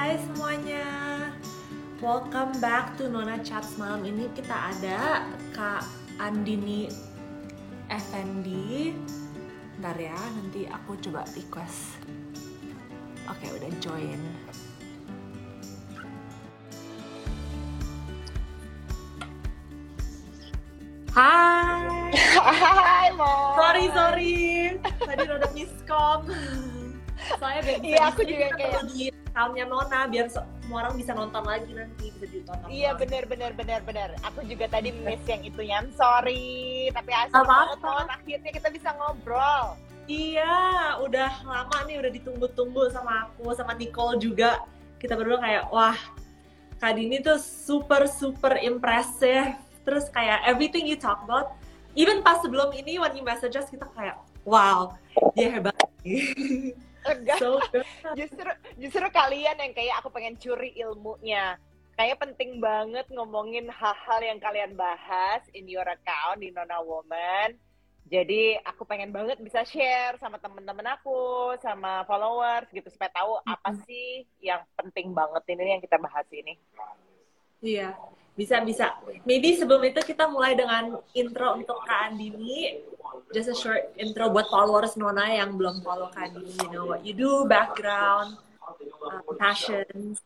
Hai semuanya, welcome back to Nona Chats. Malam ini kita ada Kak Andini Effendi. Bentar ya, nanti aku coba request. Oke, udah join. Hai. Hai, Mo. Sorry. Tadi rada miskom. Soalnya Iya, aku juga kayak di account-nya Nona biar semua orang bisa nonton lagi nanti, bisa ditonton. Iya, bener. Aku juga tadi miss yang itu ya. I'm sorry, tapi asik banget, Mon. Akhirnya kita bisa ngobrol. Iya, udah lama nih, udah ditunggu-tunggu sama aku, sama Nicole juga. Kita berdua kayak, wah, Kak Dini tuh super impressive. Terus kayak everything you talk about, even pas sebelum ini when you message us, kita kayak, wow, dia hebat. Enggak, So, justru kalian yang kayak aku pengen curi ilmunya. Kayak penting banget ngomongin hal-hal yang kalian bahas in your account di Nona Woman. Jadi aku pengen banget bisa share sama temen-temen aku, sama followers gitu supaya tahu apa sih yang penting banget ini yang kita bahas ini. iya, bisa. Maybe sebelum itu kita mulai dengan intro untuk Kak Andini. Just a short intro buat followers Nona yang belum follow Kak Andini. You know what you do, background, passions.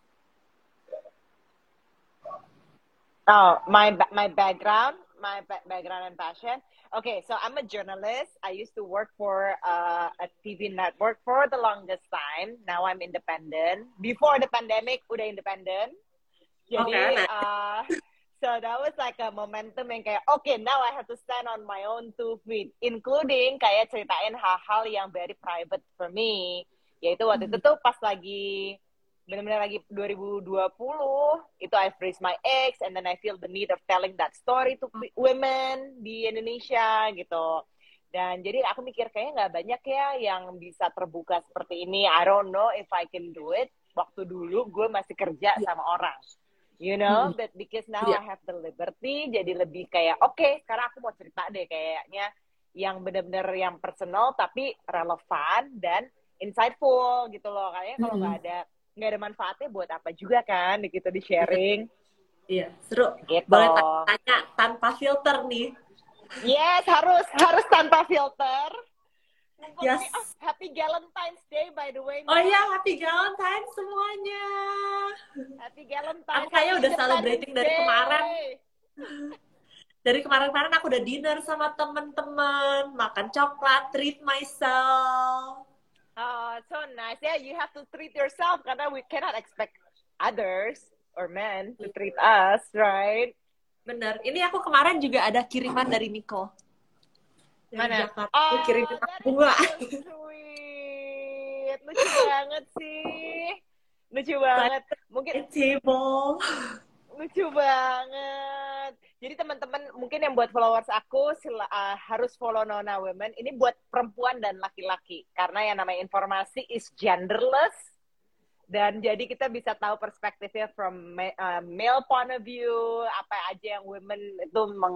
Oh, my background and passion. Okay, so I'm a journalist. I used to work for a TV network for the longest time. Now I'm independent. Before the pandemic, udah independent. Jadi, so that was like a momentum yang kayak, okay, now I have to stand on my own 2 feet, including kayak ceritain hal-hal yang very private for me. Yaitu waktu itu tuh pas lagi benar-benar lagi 2020 itu I raised my ex and then I feel the need of telling that story to women di Indonesia gitu. Dan jadi aku mikir kayaknya nggak banyak ya yang bisa terbuka seperti ini. I don't know if I can do it. Waktu dulu gue masih kerja sama orang, you know, but because now I have the liberty, jadi lebih kayak okay, sekarang aku mau cerita deh kayaknya yang benar-benar yang personal tapi relevan dan insightful gitu loh. Kayaknya kalau nggak ada manfaatnya buat apa juga kan gitu di sharing. Iya, seru. Gitu. Boleh tanya tanpa filter nih. Yes, harus tanpa filter. Yes. Happy Valentine's Day by the way. Oh iya, Happy Valentine's semuanya. Happy Valentine's. Aku kayaknya udah celebrating dari kemarin. Dari kemarin aku udah dinner sama temen-temen, makan coklat, treat myself. Oh, so nice. Yeah, you have to treat yourself karena we cannot expect others or men to treat us, right? Bener. Ini aku kemarin juga ada kiriman dari Nicole. Mana? Aku kirimin bunga. Sweet. Lucu banget sih. Lucu banget. Mungkin table. Lucu banget. Jadi teman-teman mungkin yang buat followers aku harus follow Nona Women. Ini buat perempuan dan laki-laki karena yang namanya informasi is genderless. Dan jadi kita bisa tahu perspektifnya from male point of view, apa aja yang women itu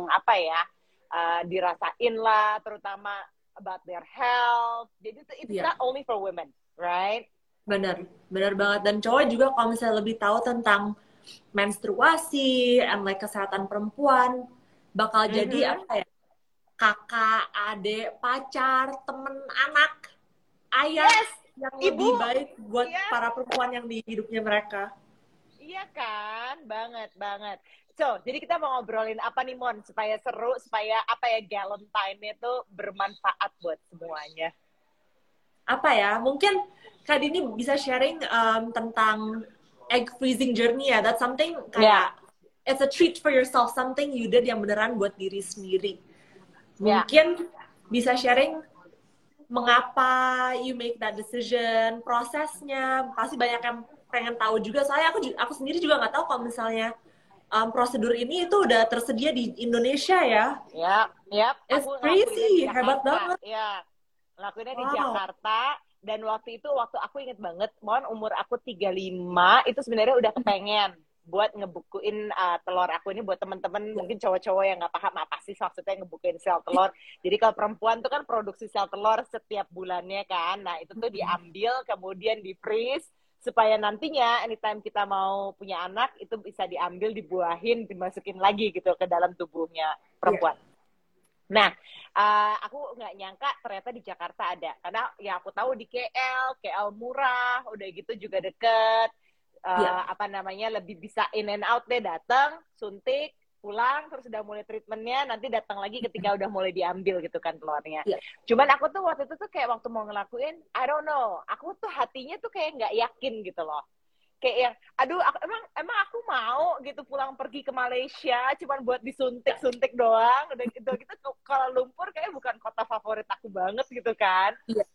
dirasain lah, terutama about their health. Jadi it's not only for women, right? Bener banget. Dan cowok juga kalau misalnya lebih tahu tentang menstruasi and like kesehatan perempuan, bakal jadi apa ya? Kakak, adik, pacar, temen, anak, ayah yang lebih baik buat para perempuan yang di hidupnya mereka. Iya kan, banget. So, jadi kita mau ngobrolin apa nih Mon, supaya seru, supaya Valentine itu bermanfaat buat semuanya. Apa ya, mungkin Kak Dini bisa sharing tentang egg freezing journey ya. That's something kayak it's a treat for yourself, something you did yang beneran buat diri sendiri. Mungkin bisa sharing mengapa you make that decision, prosesnya. Pasti banyak yang pengen tahu juga. Soalnya aku sendiri juga nggak tahu kalau misalnya prosedur ini itu udah tersedia di Indonesia ya. It's crazy, hebat banget. Ya, ngelakuinnya di Jakarta. Dan waktu aku inget banget, umur aku 35, itu sebenarnya udah kepengen buat ngebukuin telur aku ini buat teman-teman mungkin cowok-cowok yang nggak paham apa sih maksudnya ngebukuin sel telur. Jadi kalau perempuan tuh kan produksi sel telur setiap bulannya kan. Nah itu tuh diambil kemudian di freeze supaya nantinya anytime kita mau punya anak itu bisa diambil, dibuahin, dimasukin lagi gitu ke dalam tubuhnya perempuan. Nah, aku nggak nyangka ternyata di Jakarta ada, karena ya aku tahu di KL murah, udah gitu juga deket, apa namanya, lebih bisa in and out deh, datang, suntik, pulang, terus udah mulai treatmentnya, nanti datang lagi ketika udah mulai diambil gitu kan telurnya. Cuman aku tuh waktu itu tuh kayak waktu mau ngelakuin, I don't know, aku tuh hatinya tuh kayak nggak yakin gitu loh. Kayak yang, aduh, emang aku mau gitu pulang pergi ke Malaysia cuman buat disuntik-suntik doang, udah gitu Kuala Lumpur kayak bukan kota favorit aku banget gitu kan.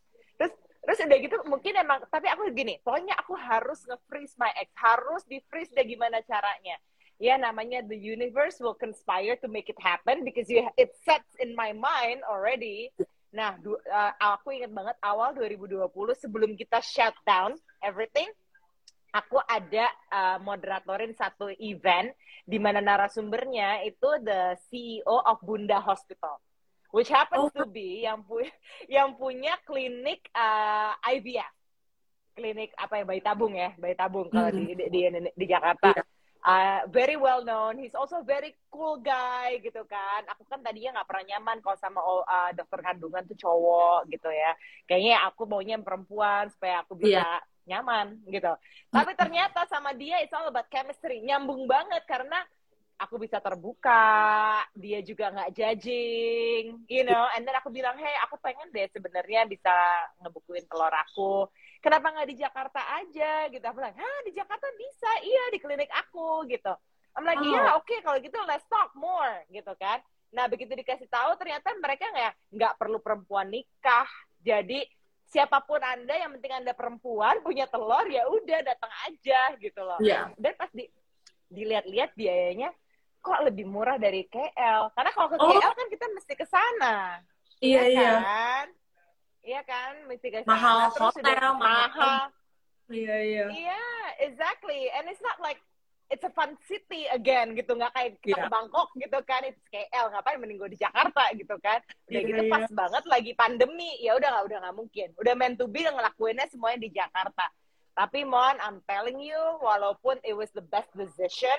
Terus udah gitu mungkin emang, tapi aku gini, pokoknya aku harus nge-freeze my egg, harus di-freeze deh gimana caranya. Ya namanya the universe will conspire to make it happen because it sets in my mind already. Nah, aku ingat banget awal 2020 sebelum kita shut down everything, aku ada moderatorin satu event di mana narasumbernya itu the CEO of Bunda Hospital, which happens to be yang punya klinik IVF, klinik apa ya, bayi tabung kalau di Jakarta. Very well known, he's also very cool guy gitu kan. Aku kan tadinya nggak pernah nyaman kalau sama dokter kandungan tuh cowok gitu ya. Kayaknya aku maunya perempuan supaya aku bisa nyaman gitu. Tapi ternyata sama dia it's all about chemistry, nyambung banget karena aku bisa terbuka, dia juga nggak judging, you know. And then aku bilang, hey, aku pengen deh sebenarnya bisa ngebukuin telur aku. Kenapa nggak di Jakarta aja gitu? Aku bilang, di Jakarta bisa, iya di klinik aku gitu. I'm like, iya, oke, kalau gitu let's talk more gitu kan. Nah begitu dikasih tahu ternyata mereka nggak perlu perempuan nikah. Jadi siapapun Anda yang penting Anda perempuan punya telur ya udah datang aja gitu loh. Dan pas dilihat-lihat biayanya kok lebih murah dari KL. Karena kalau ke KL kan kita mesti ke sana. Iya kan? Iya kan? Mesti ke sana. Mahal Terus hotel, mahal. Iya, exactly. And it's not like it's a fun city again gitu, nggak kayak kita ke Bangkok gitu kan, it's KL, ngapain mending gue di Jakarta gitu kan. Udah gitu pas banget lagi pandemi, ya udah nggak mungkin, udah meant to be ngelakuinnya semuanya di Jakarta. Tapi Mon, I'm telling you, walaupun it was the best decision,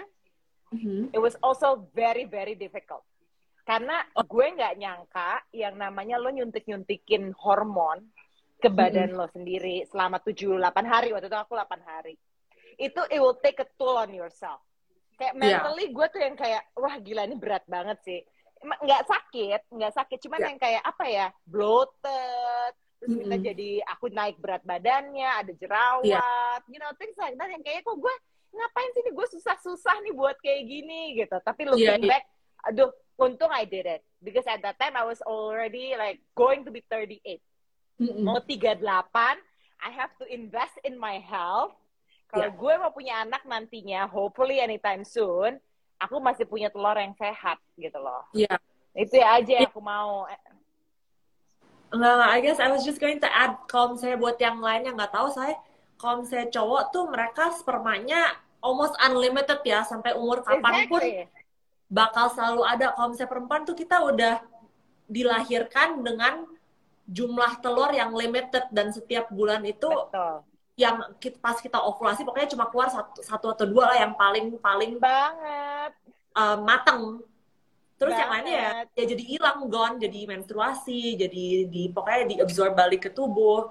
it was also very very difficult. Karena gue nggak nyangka yang namanya lo nyuntikin hormon ke badan lo sendiri selama 7-8 hari, waktu itu aku 8 hari. Itu it will take a toll on yourself. Kayak mentally gue tuh yang kayak, wah gila ini berat banget sih. Nggak sakit, cuman yang kayak apa ya, bloated, terus kita jadi, aku naik berat badannya, ada jerawat, you know, things like that, yang kayak kok gue ngapain sih nih, gue susah-susah nih buat kayak gini gitu. Tapi looking back, aduh, untung I did it. Because at that time I was already like going to be 38. Mau 38, I have to invest in my health. Kalau gue mau punya anak nantinya, hopefully anytime soon, aku masih punya telur yang sehat gitu loh. Itu ya aja yang aku mau. Enggak, I guess I was just going to add, kalau misalnya buat yang lain yang nggak tahu, saya kalau misalnya cowok tuh mereka spermanya almost unlimited ya, sampai umur kapanpun bakal selalu ada. Kalau misalnya perempuan tuh kita udah dilahirkan dengan jumlah telur yang limited, dan setiap bulan itu yang pas kita ovulasi pokoknya cuma keluar satu atau dua lah yang paling banget mateng. Terus yang lainnya ya jadi hilang, gone, jadi menstruasi, jadi pokoknya diabsorb balik ke tubuh.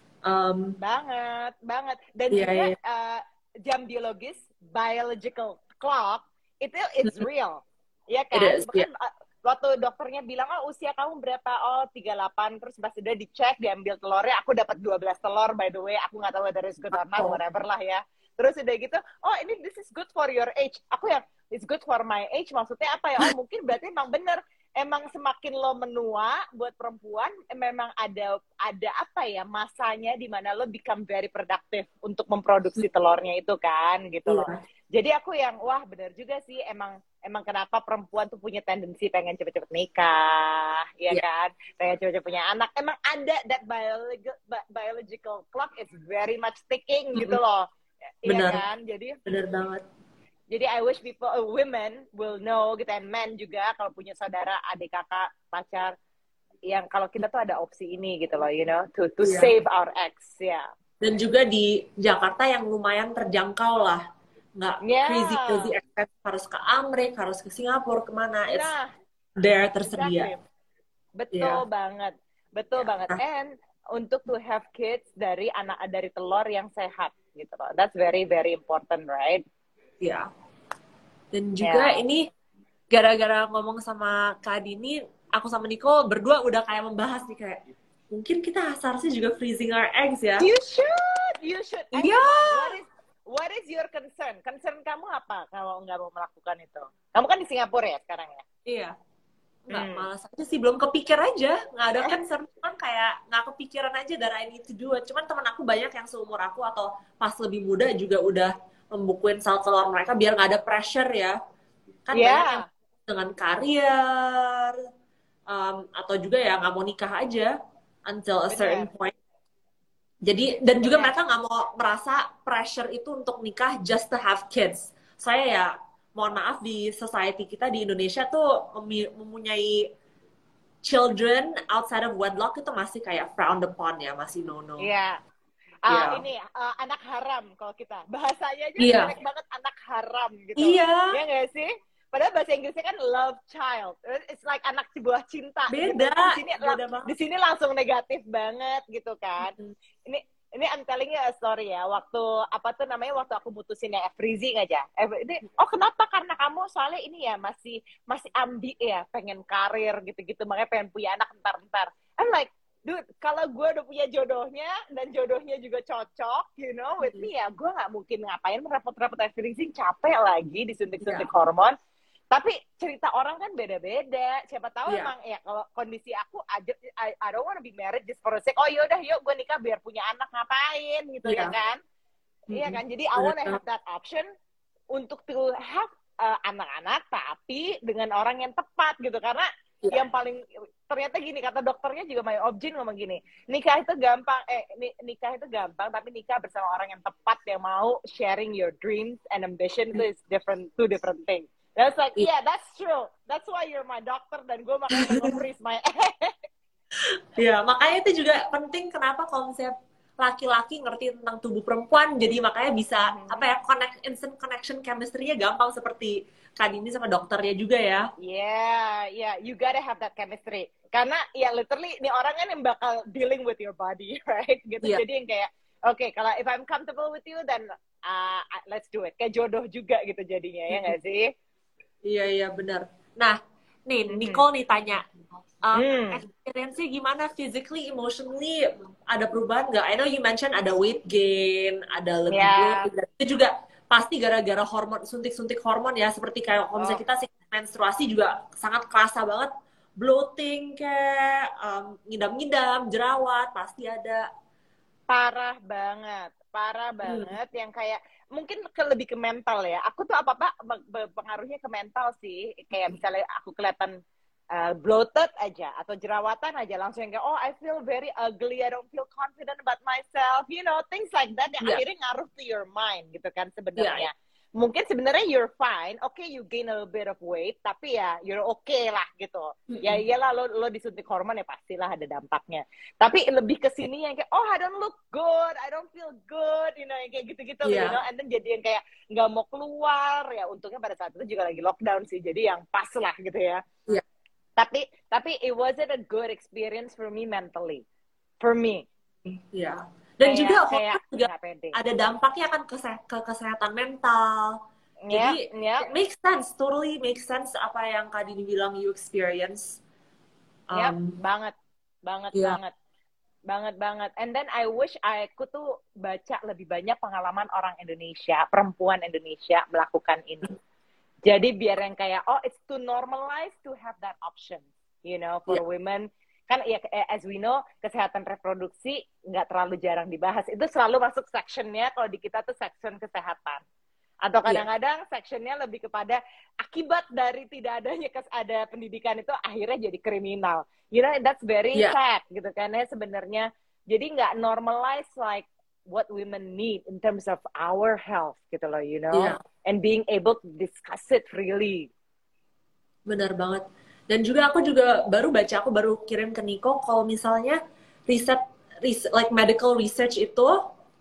Banget. Dan juga jam biologis, biological clock itu it's real. Iya kan? Waktu dokternya bilang, usia kamu berapa? 38. Terus pas udah dicek, diambil telurnya, aku dapat 12 telur, by the way. Aku nggak tahu whether it's good or not, whatever lah ya. Terus udah gitu, ini this is good for your age. Aku yang, it's good for my age, maksudnya apa ya? Mungkin berarti emang bener. Emang semakin lo menua, buat perempuan, memang ada apa ya, masanya di mana lo become very productive untuk memproduksi telurnya itu kan, gitu loh. Jadi aku yang, wah bener juga sih, emang kenapa perempuan tuh punya tendensi pengen cepet-cepet nikah, ya kan? Pengen cepet-cepet punya anak. Emang ada that biological clock is very much ticking gitu loh. Iya kan? Jadi bener banget. Jadi I wish people, women will know gitu, and men juga kalau punya saudara, adik, kakak, pacar, yang kalau kita tuh ada opsi ini gitu loh, you know, to save our ex, Dan juga di Jakarta yang lumayan terjangkau lah. Nggak crazy Yeah. expensive harus ke Amerika, harus ke Singapura, kemana. It's Nah, there tersedia. exactly. Betul Iya. banget. Betul Yeah. banget. And untuk to have kids dari telur yang sehat gitu loh. That's very very important, right? Iya. Dan juga Yeah. ini gara-gara ngomong sama Kak Dini, aku sama Nico berdua udah kayak membahas nih kayak mungkin kita seharusnya juga freezing our eggs ya. You should. You should. Iya. What is your concern? Concern kamu apa kalau nggak mau melakukan itu? Kamu kan di Singapura ya sekarang ya? Iya. Nggak, malas aja sih, belum kepikir aja. Nggak ada concern, cuman kayak nggak kepikiran aja that I need to do it. Cuman teman aku banyak yang seumur aku atau pas lebih muda juga udah membukuin sel telur mereka biar nggak ada pressure ya. Kan banyak yang dengan karir, atau juga ya nggak mau nikah aja until a certain point. Jadi, dan juga mereka nggak mau merasa pressure itu untuk nikah just to have kids. Saya ya, mohon maaf, di society kita di Indonesia tuh mempunyai children outside of wedlock itu masih kayak frowned upon ya, masih no-no. Iya. Ini anak haram kalau kita. Bahasanya aja jelek banget, anak haram gitu. Iya. Ya nggak sih? Padahal bahasa Inggrisnya kan love child. It's like anak sebuah cinta. Beda. Gitu. Di sini langsung negatif banget gitu kan. Ini I'm telling you a story ya. Waktu waktu aku mutusin yang freezing aja. Kenapa? Karena kamu soalnya ini ya masih ambi ya, pengen karir gitu-gitu, makanya pengen punya anak entar-entar. I'm like, dude, kalau gue udah punya jodohnya dan jodohnya juga cocok, with me ya, gue nggak mungkin ngapain repot-repot freezing, capek lagi disuntik-suntik hormon. Tapi cerita orang kan beda-beda. Siapa tahu emang ya kalau kondisi aku aja, I don't want to be married just for a sake. Oh yaudah, yuk gue nikah biar punya anak, ngapain gitu ya kan? Iya kan? Jadi I want to have that option untuk to have anak-anak tapi dengan orang yang tepat gitu. Karena yang paling ternyata gini, kata dokternya juga, my objin ngomong gini, nikah itu gampang tapi nikah bersama orang yang tepat yang mau sharing your dreams and ambition itu is two different things. That's like, yeah, that's true. That's why you're my doctor dan gue makanya nge-freeze my egg. Ya, makanya itu juga penting kenapa kalau misalnya laki-laki ngerti tentang tubuh perempuan, jadi makanya bisa instant connection chemistry-nya gampang seperti Kak Dini sama dokternya juga ya. Yeah, you gotta have that chemistry. Karena ya literally ini orang kan yang bakal dealing with your body, right? Gitu. Jadi yang kayak, okay, kalau if I'm comfortable with you, then let's do it. Kayak jodoh juga gitu jadinya, ya nggak sih? Iya, benar. Nah, nih, Nicole nih tanya, experience-nya gimana physically, emotionally, ada perubahan nggak? I know you mention ada weight gain, ada lebih bloated, itu juga pasti gara-gara hormon, suntik-suntik hormon ya, seperti kayak kalau misalnya kita menstruasi juga sangat kerasa banget, bloating kayak, ngidam-ngidam, jerawat, pasti ada. Parah banget yang kayak mungkin lebih ke mental ya. Aku tuh apa-apa pengaruhnya ke mental sih. Kayak misalnya aku kelihatan bloated aja atau jerawatan aja langsung kayak, oh I feel very ugly, I don't feel confident about myself, things like that yang akhirnya ngaruh to your mind gitu kan sebenarnya. Mungkin sebenarnya you're fine, okay, you gain a little bit of weight, tapi ya you're okay lah gitu. Ya iyalah lo disuntik hormon ya pastilah ada dampaknya. Tapi lebih ke sini yang kayak, oh I don't look good, I don't feel good, yang kayak gitu-gitu, and then jadi yang kayak nggak mau keluar, ya untungnya pada saat itu juga lagi lockdown sih, jadi yang pas lah gitu ya. Tapi it wasn't a good experience for me mentally, for me. Dan juga ada dampaknya kan ke kesehatan mental. Jadi it makes sense, totally makes sense apa yang Kak Dini bilang you experience. Banget. And then I wish aku tuh baca lebih banyak pengalaman orang Indonesia, perempuan Indonesia melakukan ini. Jadi biar yang kayak, it's too normalized to have that option, for women. Kan ya, as we know, kesehatan reproduksi nggak terlalu jarang dibahas. Itu selalu masuk sectionnya, kalau di kita tuh section kesehatan. Atau kadang-kadang sectionnya lebih kepada akibat dari tidak adanya ada pendidikan itu akhirnya jadi kriminal. That's very sad gitu kan ya sebenarnya. Jadi nggak normalize like what women need in terms of our health gitu loh, and being able to discuss it freely. Benar banget. Dan juga aku baru kirim ke Nico kalau misalnya riset like medical research itu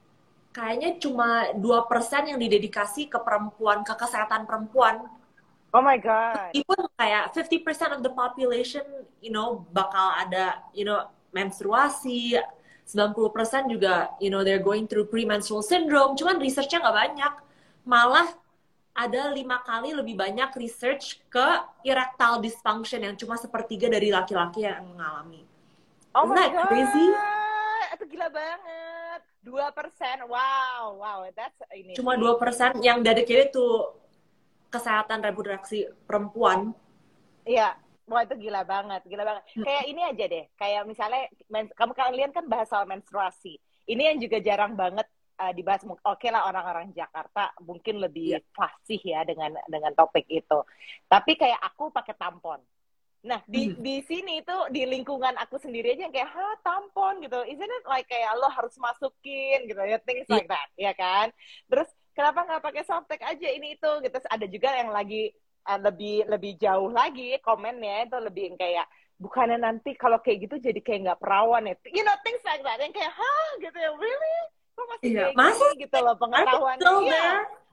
kayaknya cuma 2% yang didedikasi ke perempuan, ke kesehatan perempuan. Oh my God. Even kayak 50% of the population, bakal ada, menstruasi. 90% juga, they're going through premenstrual syndrome. Cuman researchnya nggak banyak. Malah ada 5 kali lebih banyak research ke erectile dysfunction yang cuma sepertiga dari laki-laki yang mengalami. Oh Isn't my that God. crazy? Itu gila banget. 2%. Wow. Wow. That's ini Cuma sih. 2% yang dedicated to kesehatan reproduksi perempuan. Iya. Wah, itu gila banget. Gila banget. Kayak ini aja deh. Kayak misalnya, kamu kalian kan bahas soal menstruasi. Ini yang juga jarang banget dibahas. Oke lah, orang-orang Jakarta mungkin lebih fasih ya dengan topik itu. Tapi kayak aku pakai tampon. Nah, di sini tuh, di lingkungan aku sendiri aja yang kayak, tampon gitu. Isn't it like kayak lo harus masukin gitu ya, things like that, ya kan? Terus, kenapa nggak pakai softtek aja ini itu gitu. Terus ada juga yang lagi lebih jauh lagi komennya itu lebih yang kayak, bukannya nanti kalau kayak gitu jadi kayak nggak perawan ya. Things like that. Yang kayak, gitu ya, really? Kok masih kayak Masa gini gitu loh pengetahuannya. Iya.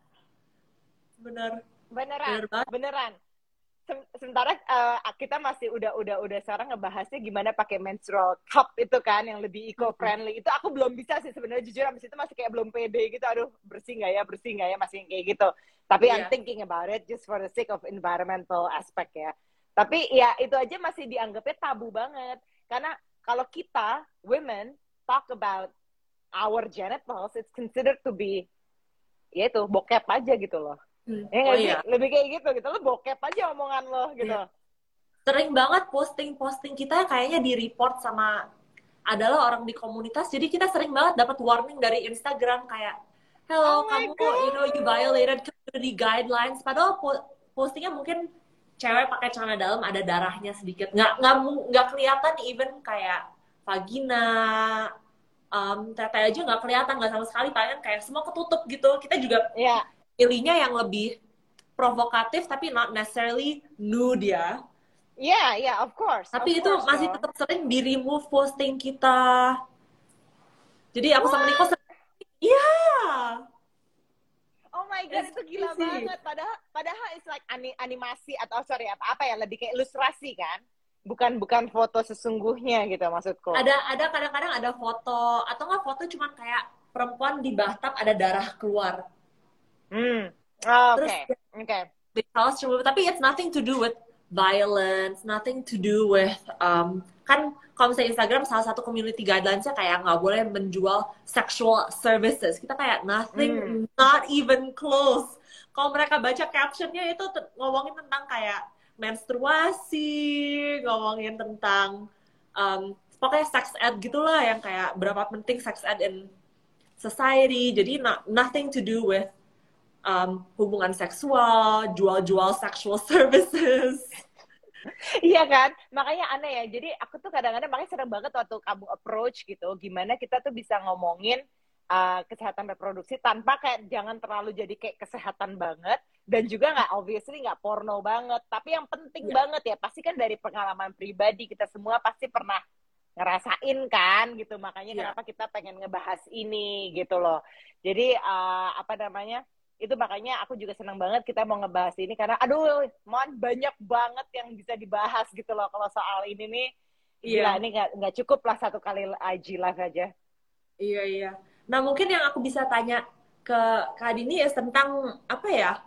Bener. Beneran. Sementara kita masih udah sekarang ngebahasnya gimana pakai menstrual cup itu kan yang lebih eco friendly. Itu aku belum bisa sih sebenarnya, jujur abis itu masih kayak belum pede gitu. Aduh, bersih nggak ya masih kayak gitu. Tapi I'm thinking about it just for the sake of environmental aspect ya. Tapi ya itu aja masih dianggapnya tabu banget. Karena kalau kita women talk about our genitals, it's considered to be ya itu bokep aja gitu loh. Iya. Lebih kayak gitu lo bokep aja omongan lo gitu. Sering banget posting kita kayaknya di report sama adalah orang di komunitas, jadi kita sering banget dapat warning dari Instagram kayak, hello, kamu you violated community guidelines, padahal postingnya mungkin cewek pakai celana dalam ada darahnya sedikit, nggak kelihatan even kayak vagina, tete aja nggak kelihatan, nggak sama sekali, paling kayak semua ketutup gitu. Kita juga pilihnya yang lebih provokatif tapi not necessarily nude ya. Yeah, of course. Tapi itu masih tetap sering di remove posting kita. Jadi aku sama Nico sering, Oh my God, itu gila banget. Padahal it's like animasi atau apa ya, lebih kayak ilustrasi kan? Bukan foto sesungguhnya gitu maksudku. Ada kadang-kadang ada foto atau nggak foto cuman kayak perempuan di bathtub ada darah keluar. Okay. Tapi it's nothing to do with violence, nothing to do with kan kalau misalnya Instagram salah satu community guidelines-nya kayak nggak boleh menjual sexual services. Kita kayak nothing, not even close. Kalau mereka baca captionnya itu ngomongin tentang kayak menstruasi, ngomongin tentang pokoknya sex ed gitulah, yang kayak berapa penting sex ed in society. Jadi nothing to do with hubungan seksual, jual-jual sexual services. Iya kan, makanya aneh ya. Jadi aku tuh kadang-kadang makanya sering banget waktu kamu approach gitu, gimana kita tuh bisa ngomongin kesehatan reproduksi tanpa kayak jangan terlalu jadi kayak kesehatan banget, dan juga nggak obviously nggak porno banget. Tapi yang penting banget ya, pasti kan dari pengalaman pribadi kita semua pasti pernah ngerasain kan gitu. Makanya kenapa kita pengen ngebahas ini gitu loh. Jadi itu makanya aku juga senang banget kita mau ngebahas ini, karena aduh, banyak banget yang bisa dibahas gitu loh kalau soal ini nih. Gila, ini nggak cukup lah satu kali IG live aja. Iya. Nah, mungkin yang aku bisa tanya ke Kak Dini ya tentang apa ya?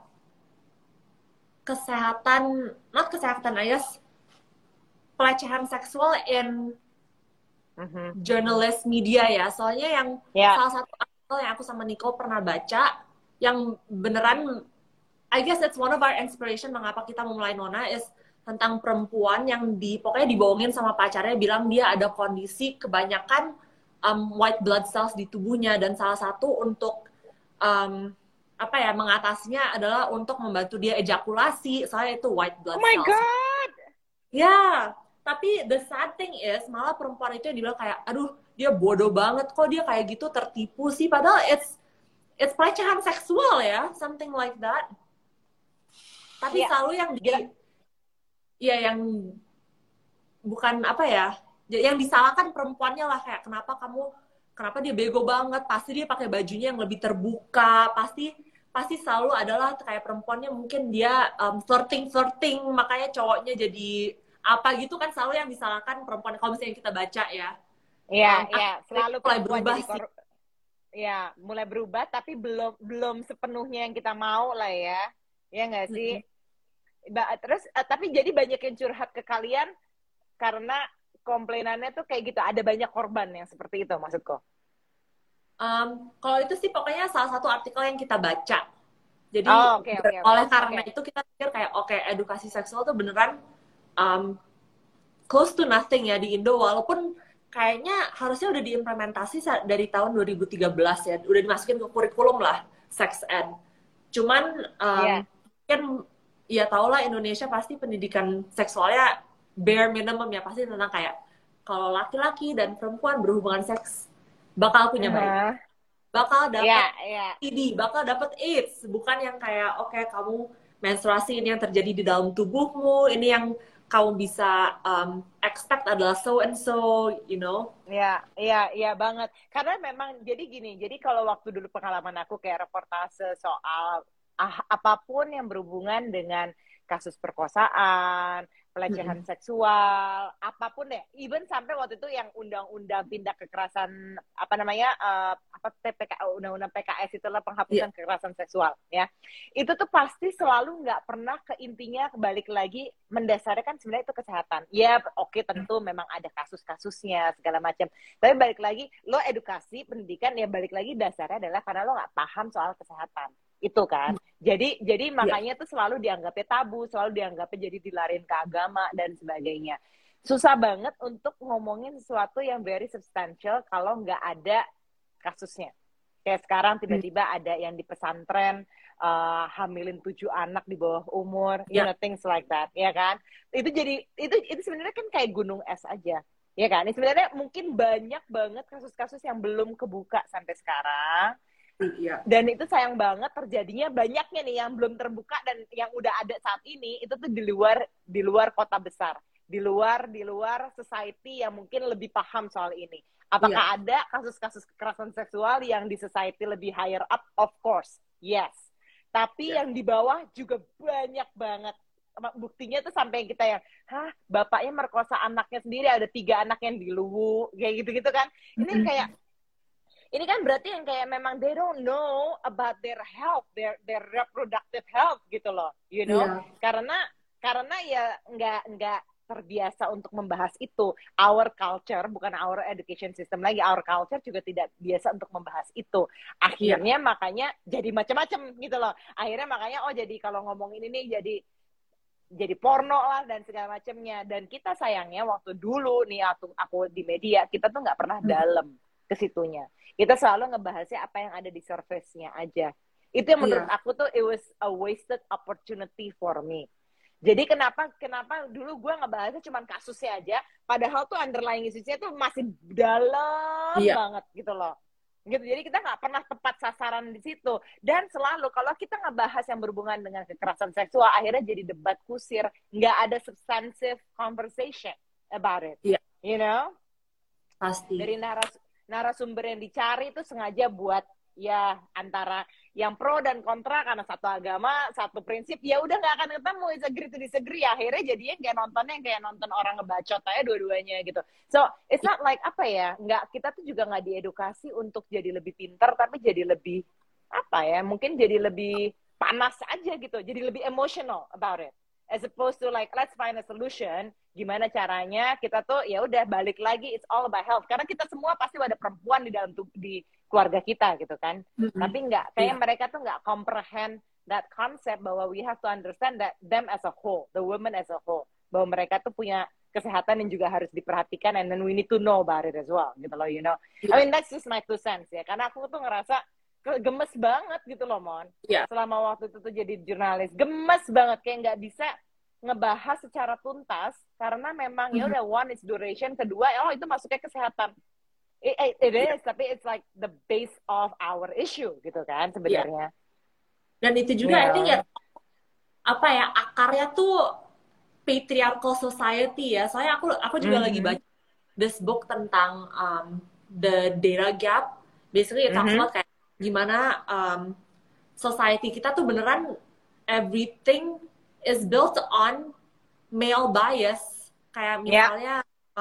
Not kesehatan, I guess, pelecehan seksual in journalist media ya. Soalnya yang salah satu artikel yang aku sama Nico pernah baca, yang beneran, I guess that's one of our inspiration mengapa kita memulai Nona, is tentang perempuan yang pokoknya dibohongin sama pacarnya, bilang dia ada kondisi kebanyakan white blood cells di tubuhnya, dan salah satu untuk mengatasinya adalah untuk membantu dia ejakulasi, soalnya itu white blood cells. Oh my God! Ya, tapi the sad thing is malah perempuan itu yang dibilang kayak, aduh, dia bodoh banget kok dia kayak gitu, tertipu sih, padahal it's pelecehan seksual ya, something like that. Tapi selalu yang bukan yang disalahkan perempuannya lah, kayak kenapa kamu kenapa dia bego banget, pasti dia pakai bajunya yang lebih terbuka, pasti selalu adalah kayak perempuannya mungkin dia flirting, makanya cowoknya jadi apa gitu kan, selalu yang disalahkan perempuan kalau misalnya kita baca ya. Iya, iya, Akhirnya selalu mulai perempuan berubah jadi sih. ya, mulai berubah tapi belum belum sepenuhnya yang kita mau lah ya. Ya nggak sih? Terus tapi jadi banyak yang curhat ke kalian karena komplainannya tuh kayak gitu. Ada banyak korban yang seperti itu maksudku. Kalau itu sih pokoknya salah satu artikel yang kita baca. Jadi Oh, oke, oke, oke. oleh karena Oke. itu kita pikir kayak oke, edukasi seksual tuh beneran um, close to nothing ya di Indo, walaupun kayaknya harusnya udah diimplementasi dari tahun 2013 ya, udah dimasukin ke kurikulum lah sex ed. Cuman Iya. kan ya tau lah Indonesia pasti pendidikan seksualnya bare minimum ya, pasti tentang kayak kalau laki-laki dan perempuan berhubungan seks bakal punya bayi, Uh-huh. bakal Iya, dapat iya. TB, bakal dapat AIDS, bukan yang kayak oke, kamu menstruasi ini yang terjadi di dalam tubuhmu, ini yang kamu bisa expect adalah so and so, you know. Iya, iya, iya banget. Karena memang jadi gini, jadi kalau waktu dulu pengalaman aku kayak reportase soal apapun yang berhubungan dengan kasus perkosaan, pelecehan seksual, apapun deh. Even sampai waktu itu yang undang-undang tindak kekerasan apa namanya apa undang-undang PKS itulah Yeah. penghapusan kekerasan seksual ya. Itu tuh pasti selalu nggak pernah ke intinya, balik lagi mendasarnya kan sebenarnya itu kesehatan. Ya, oke, tentu memang ada kasus-kasusnya segala macam. Tapi balik lagi, lo edukasi pendidikan ya balik lagi dasarnya adalah karena lo nggak paham soal kesehatan itu kan. Jadi Yeah. makanya tuh selalu dianggapnya tabu, selalu dianggapnya jadi dilarin ke agama dan sebagainya. Susah banget untuk ngomongin sesuatu yang very substantial kalau nggak ada kasusnya. Kayak sekarang tiba-tiba ada yang di pesantren hamilin 7 anak di bawah umur, you Yeah. know, things like that, ya kan? Itu jadi itu sebenarnya kan kayak gunung es aja, ya kan? Ini sebenarnya mungkin banyak banget kasus-kasus yang belum kebuka sampai sekarang. Yeah. Dan itu sayang banget terjadinya banyaknya nih yang belum terbuka dan yang udah ada saat ini itu tuh di luar kota besar, di luar society yang mungkin lebih paham soal ini. Apakah ada kasus-kasus kekerasan seksual yang di society lebih higher up? Of course, yes. Tapi yang di bawah juga banyak banget. Buktinya tuh sampai kita yang, bapaknya merkosa anaknya sendiri, ada 3 anak yang diluwu, kayak gitu-gitu kan. Ini kayak ini kan berarti yang kayak memang they don't know about their health, their reproductive health gitu loh, you know? Yeah. Karena ya nggak terbiasa untuk membahas itu. Our culture, bukan our education system lagi, our culture juga tidak biasa untuk membahas itu. Akhirnya makanya jadi macam-macam gitu loh. Akhirnya makanya jadi kalau ngomongin ini jadi porno lah dan segala macamnya. Dan kita sayangnya waktu dulu nih aku di media, kita tuh nggak pernah dalam ke situnya. Kita selalu ngebahasnya apa yang ada di surface-nya aja. Itu yang menurut aku tuh it was a wasted opportunity for me. Jadi kenapa dulu gue ngebahasnya cuma kasusnya aja, padahal tuh underlying isunya tuh masih dalam banget gitu loh. Gitu. Jadi kita nggak pernah tepat sasaran di situ. Dan selalu kalau kita ngebahas yang berhubungan dengan kekerasan seksual, akhirnya jadi debat kusir, nggak ada substantive conversation about it. You know? Pasti. Dari narasumber yang dicari itu sengaja buat ya antara yang pro dan kontra karena satu agama, satu prinsip, ya udah nggak akan ketemu, it's agree to disagree. Akhirnya jadinya kayak nontonnya kayak nonton orang ngebacot aja dua-duanya gitu. So it's not like apa ya, kita tuh juga nggak diedukasi untuk jadi lebih pintar, tapi jadi lebih apa ya, mungkin jadi lebih panas aja gitu, jadi lebih emotional about it. As opposed to like let's find a solution, gimana caranya kita tuh ya udah balik lagi, it's all about health, karena kita semua pasti ada perempuan di dalam di keluarga kita gitu kan. Tapi nggak, kayak mereka tuh nggak comprehend that concept bahwa we have to understand that them as a whole, the women as a whole, bahwa mereka tuh punya kesehatan yang juga harus diperhatikan, and then we need to know about it as well gitu loh, you know. I mean that's just my 2 cents ya, karena aku tuh ngerasa gemes banget gitu loh Mon. Selama waktu itu tuh jadi jurnalis, gemes banget, kayak nggak bisa ngebahas secara tuntas karena memang ya udah, one is duration, kedua itu masuknya kesehatan. It is, tapi it's like the base of our issue gitu kan sebenarnya. Dan itu juga I think ya apa ya, akarnya tuh patriarchal society ya. Soalnya aku juga lagi baca this book tentang the data gap. Basically it talks Mhm. about kayak gimana society kita tuh beneran everything is built on male bias. Kayak Ya. misalnya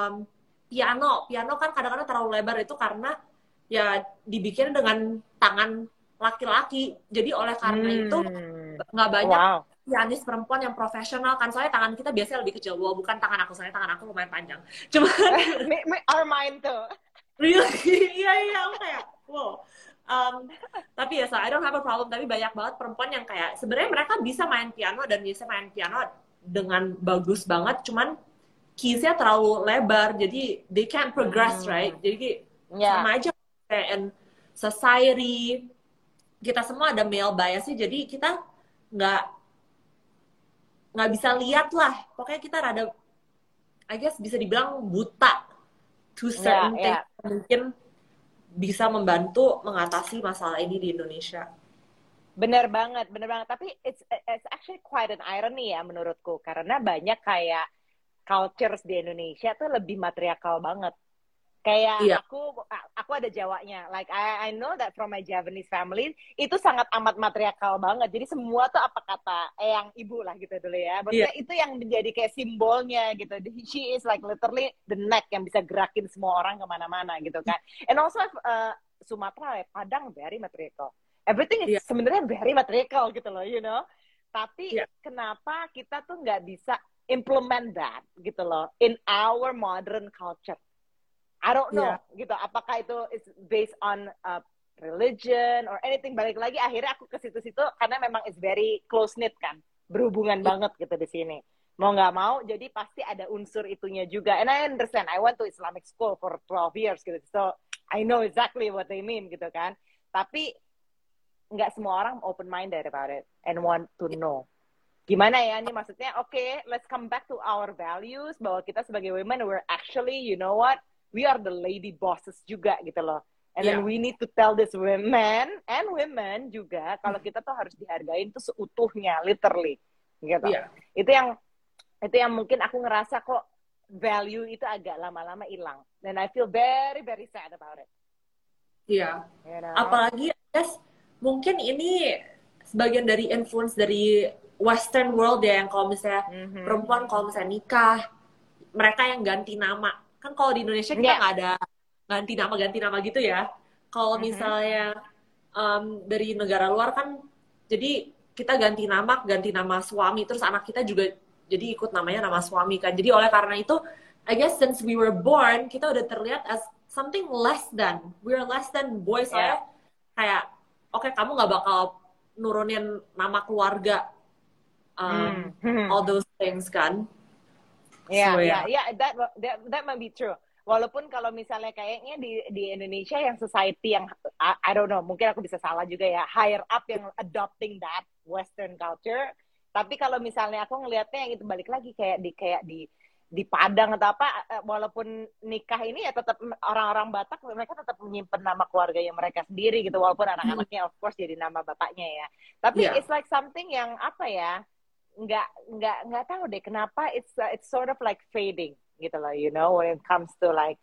piano kan kadang-kadang terlalu lebar itu karena ya dibikin dengan tangan laki-laki. Jadi oleh karena itu nggak banyak Wow. pianis perempuan yang profesional kan, soalnya tangan kita biasanya lebih kecil. Wow, bukan tangan aku, soalnya tangan aku lumayan panjang. Cuman Our mind tuh. really, iya aku kayak wow. Tapi ya, so I don't have a problem. Tapi banyak banget perempuan yang kayak sebenarnya mereka bisa main piano dan bisa main piano dengan bagus banget, cuman keysnya terlalu lebar, jadi they can't progress, right? Jadi Ya. sama aja kayak in society kita semua ada male bias sih, jadi kita nggak nggak bisa lihat lah. Pokoknya kita rada, I guess bisa dibilang buta to certain things. Mungkin bisa membantu mengatasi masalah ini di Indonesia. Bener banget, bener banget. Tapi it's actually quite an irony ya menurutku, karena banyak kayak cultures di Indonesia tuh lebih matriarkal banget. Kayak Iya. aku ada Jawanya. Like I know that from my Javanese family itu sangat amat matriarkal banget. Jadi semua tuh apa kata yang ibu lah gitu dulu ya. Maksudnya itu yang menjadi kayak simbolnya gitu. She is like literally the neck yang bisa gerakin semua orang kemana-mana gitu kan. And also Sumatera, Padang very matriarchal. Everything is sebenarnya very matriarchal gitu loh, you know. Tapi kenapa kita tuh nggak bisa implement that gitu loh in our modern culture? I don't know gitu. Apakah itu is based on religion or anything? Balik lagi akhirnya aku ke situ-situ karena memang is very close knit kan, berhubungan banget gitu di sini. Mau nggak mau, jadi pasti ada unsur itunya juga. And I understand. I went to Islamic school for 12 years gitu, so I know exactly what they mean gitu kan. Tapi nggak semua orang open minded about it and want to know. Gimana ya ini maksudnya? Okay, let's come back to our values bahwa kita sebagai women we're actually, you know what? We are the lady bosses juga gitu loh. And then we need to tell this women and women juga kalau kita tuh harus dihargain tuh seutuhnya, literally gitu. Itu yang mungkin aku ngerasa kok value itu agak lama-lama hilang. Dan I feel very very sad about it. Iya. You know? Apalagi guys, mungkin ini sebagian dari influence dari Western world ya, yang kalau misalnya perempuan kalau misalnya nikah mereka yang ganti nama. Kan kalau di Indonesia kita nggak ada ganti nama gitu ya. Kalau misalnya dari negara luar kan, jadi kita ganti nama suami, terus anak kita juga jadi ikut namanya nama suami kan. Jadi oleh karena itu, I guess since we were born, kita udah terlihat as something less than. We're less than boys. Soalnya kayak, oke, kamu nggak bakal nurunin nama keluarga, all those things kan. That might be true. Walaupun kalau misalnya kayaknya di Indonesia yang society yang I don't know, mungkin aku bisa salah juga ya, higher up yang adopting that Western culture. Tapi kalau misalnya aku ngelihatnya yang itu balik lagi kayak di Padang atau apa, walaupun nikah ini ya tetap orang-orang Batak mereka tetap menyimpan nama keluarganya mereka sendiri gitu, walaupun anak-anaknya of course jadi nama bapaknya ya. Tapi it's like something yang apa ya? nggak tahu deh kenapa it's sort of like fading gitu loh, you know, when it comes to like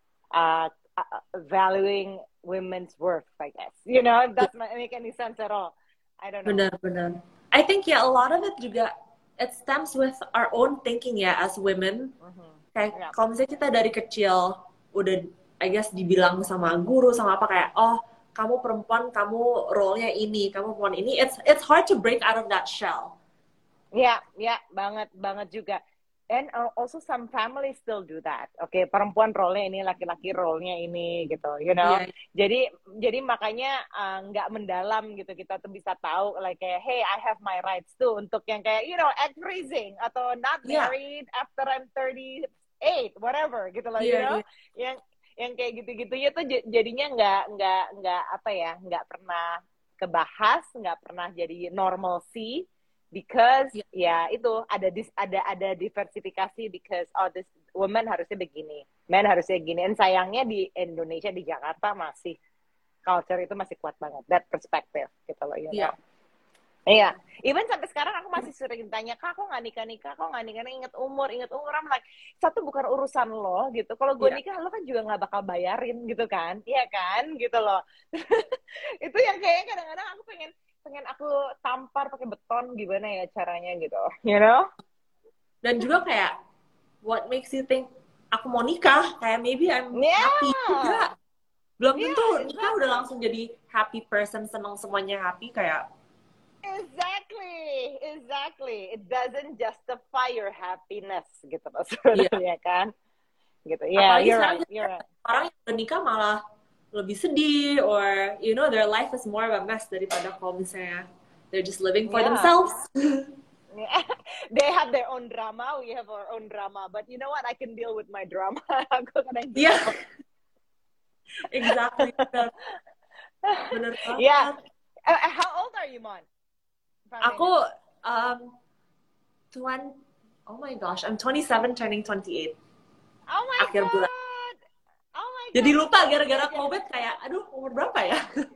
valuing women's worth, I guess, you know, if that make any sense at all. I don't know. Benar. I think a lot of it juga it stems with our own thinking ya as women. Kayak kalau misalnya kita dari kecil udah I guess dibilang sama guru sama apa kayak, oh kamu perempuan, kamu role-nya ini, kamu perempuan ini, it's hard to break out of that shell. Ya, banget juga. And also some families still do that. Okay, perempuan role-nya ini, laki-laki role-nya ini gitu, you know. Jadi makanya nggak mendalam gitu, kita tuh bisa tahu like kayak, hey, I have my rights tuh untuk yang kayak, you know, egg freezing atau not married after I'm 38, whatever gitu loh, you know. Yang kayak gitu-gitunya tuh jadinya nggak apa ya, nggak pernah kebahas, nggak pernah jadi normalcy. Because itu ada diversifikasi, because this woman harusnya begini, men harusnya gini. Dan sayangnya di Indonesia, di Jakarta masih culture itu masih kuat banget, that perspective gitu loh, you know. Iya, even sampai sekarang aku masih sering tanya, kak, kok nggak nikah-nikah, kok nggak nikah, inget umur, I'm like, satu bukan urusan lo gitu, kalau gue Iya. nikah lo kan juga nggak bakal bayarin gitu kan, iya kan, gitu loh. Itu yang kayaknya kadang-kadang aku pengen pengen aku tampar pakai beton gimana ya caranya gitu, you know? Dan juga kayak what makes you think aku mau nikah? Kayak maybe I'm happy Yeah, juga. Belum tentu yeah, nikah udah exactly. langsung jadi happy person, senang semuanya happy kayak. Exactly, exactly. It doesn't justify your happiness gitu loh Iya. sebenarnya kan. Gitu. Yeah, Apalagi you're sekarang right, you're right. orang yang udah nikah malah lebih sedih, or you know their life is more of a mess daripada kalau misalnya they're just living for Yeah. themselves. Yeah. They have their own drama, we have our own drama. But you know what? I can deal with my drama. Aku kadang Iya, gitu. exactly. Bener, bener Yeah. banget. How old are you, Mon? Aku um, 20, oh my gosh, I'm 27 turning 28 Oh my akhir bulan. god. Oh my Jadi god. lupa gara-gara COVID kayak, aduh umur berapa ya?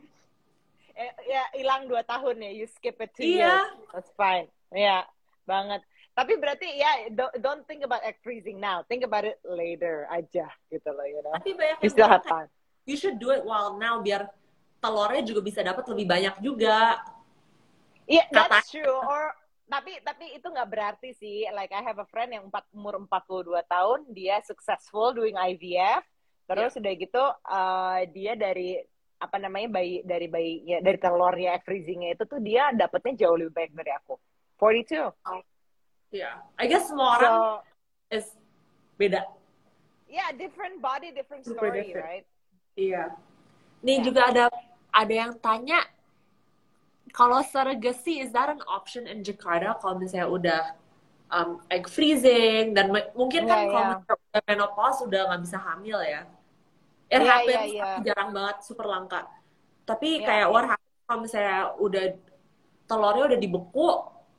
Ya hilang 2 tahun ya. You skip it 2 Iya. years. That's fine. Ya, banget. Tapi berarti ya don't think about egg freezing now. Think about it later aja gitu loh, you know. Tapi banyak You yang still bilang have kayak, time. you should do it while now biar telurnya juga bisa dapat lebih banyak juga. Yeah, Kata. that's true. Or tapi itu nggak berarti sih. Like I have a friend yang umur 42 tahun, dia successful doing IVF. Terus udah gitu dia dari apa namanya dari bayinya dari telurnya egg freezingnya itu tuh dia dapetnya jauh lebih baik dari aku. 42. Yeah, I guess semua orang is beda. Yeah, different body, different Super story, different. right? Iya. Nih Yeah. juga ada yang tanya, kalau surrogacy is that an option in Jakarta kalau misalnya udah egg freezing dan mungkin kan kalau misalnya udah menopause udah nggak bisa hamil ya. It happens tapi jarang banget, super langka. Tapi kayak what happens kalau misalnya udah telurnya udah dibeku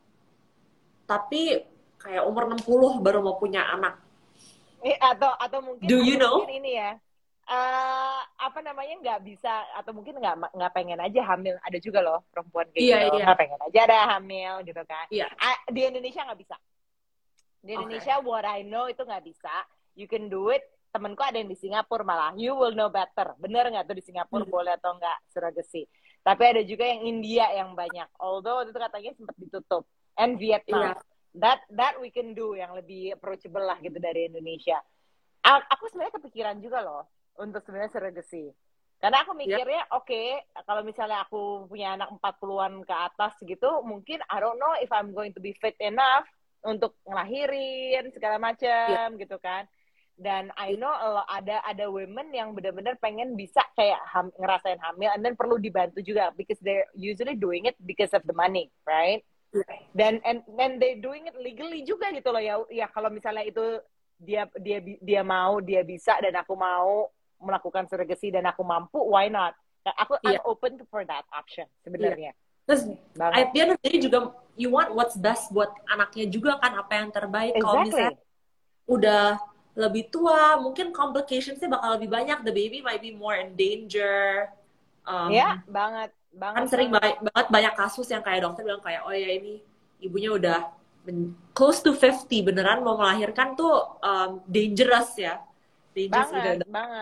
tapi kayak umur 60 baru mau punya anak. Atau mungkin Do you know? mungkin ini ya. Apa namanya nggak bisa atau mungkin nggak pengen aja hamil, ada juga loh perempuan kayak gitu nggak pengen aja ada hamil gitu kan. Di Indonesia nggak bisa. Di Indonesia what I know itu nggak bisa. You can do it. Temenku ada yang di Singapura malah. You will know better. Bener nggak tuh di Singapura boleh atau nggak surrogacy? Tapi ada juga yang India yang banyak. Although itu katanya sempat ditutup. And Vietnam. That we can do yang lebih approachable lah gitu dari Indonesia. Aku sebenarnya kepikiran juga loh untuk sebenarnya surrogacy. Karena aku mikirnya oke, kalau misalnya aku punya anak 40-an ke atas gitu, mungkin I don't know if I'm going to be fit enough untuk ngelahirin segala macam gitu kan. Dan I know ada women yang benar-benar pengen bisa kayak ngerasain hamil and then perlu dibantu juga because they're usually doing it because of the money, right? Dan and they doing it legally juga gitu loh ya kalau misalnya itu dia mau, dia bisa dan aku mau melakukan surrogacy dan aku mampu, why not? I'm open for that option sebenarnya. Terus at the end of the day juga you want what's best buat anaknya juga kan, apa yang terbaik. Kalau misalnya udah lebih tua, mungkin complicationsnya bakal lebih banyak. The baby might be more in danger. Banget. Kan sering banget banyak kasus yang kayak dokter bilang kayak, oh ya ini ibunya udah close to 50, beneran mau melahirkan tuh dangerous ya. Banget.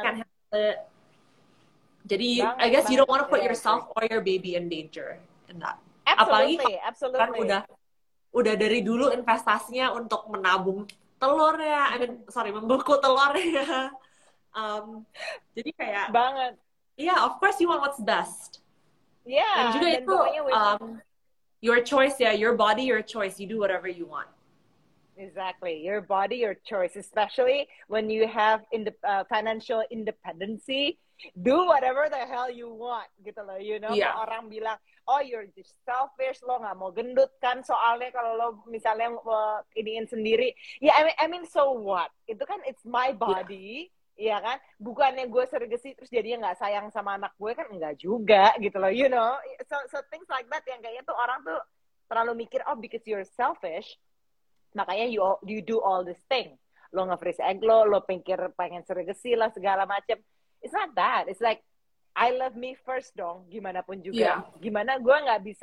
Jadi I guess you don't want to put yourself or your baby in danger in that. Apalagi kan udah dari dulu investasinya untuk menabung telur ya, membeku telur ya. Jadi kayak banget. Of course you want what's best. Dan juga itu your choice ya, your body, your choice. You do whatever you want. Exactly, your body, your choice. Especially when you have financial independency, do whatever the hell you want, gitu loh. You know, orang bilang, oh you're just selfish, lo nggak mau gendut kan? Soalnya kalau lo misalnya iniin sendiri, I mean so what? Itu kan it's my body. Iya kan, bukannya gue surrogacy terus jadinya nggak sayang sama anak gue kan, enggak juga gitu loh, you know. So things like that yang kayaknya tuh orang tuh terlalu mikir, oh because you're selfish makanya you do all this thing, lo nge-freeze egg lo pengen surrogacy lah segala macem. It's not that, it's like I love me first dong, gimana pun juga. Gimana gue nggak bisa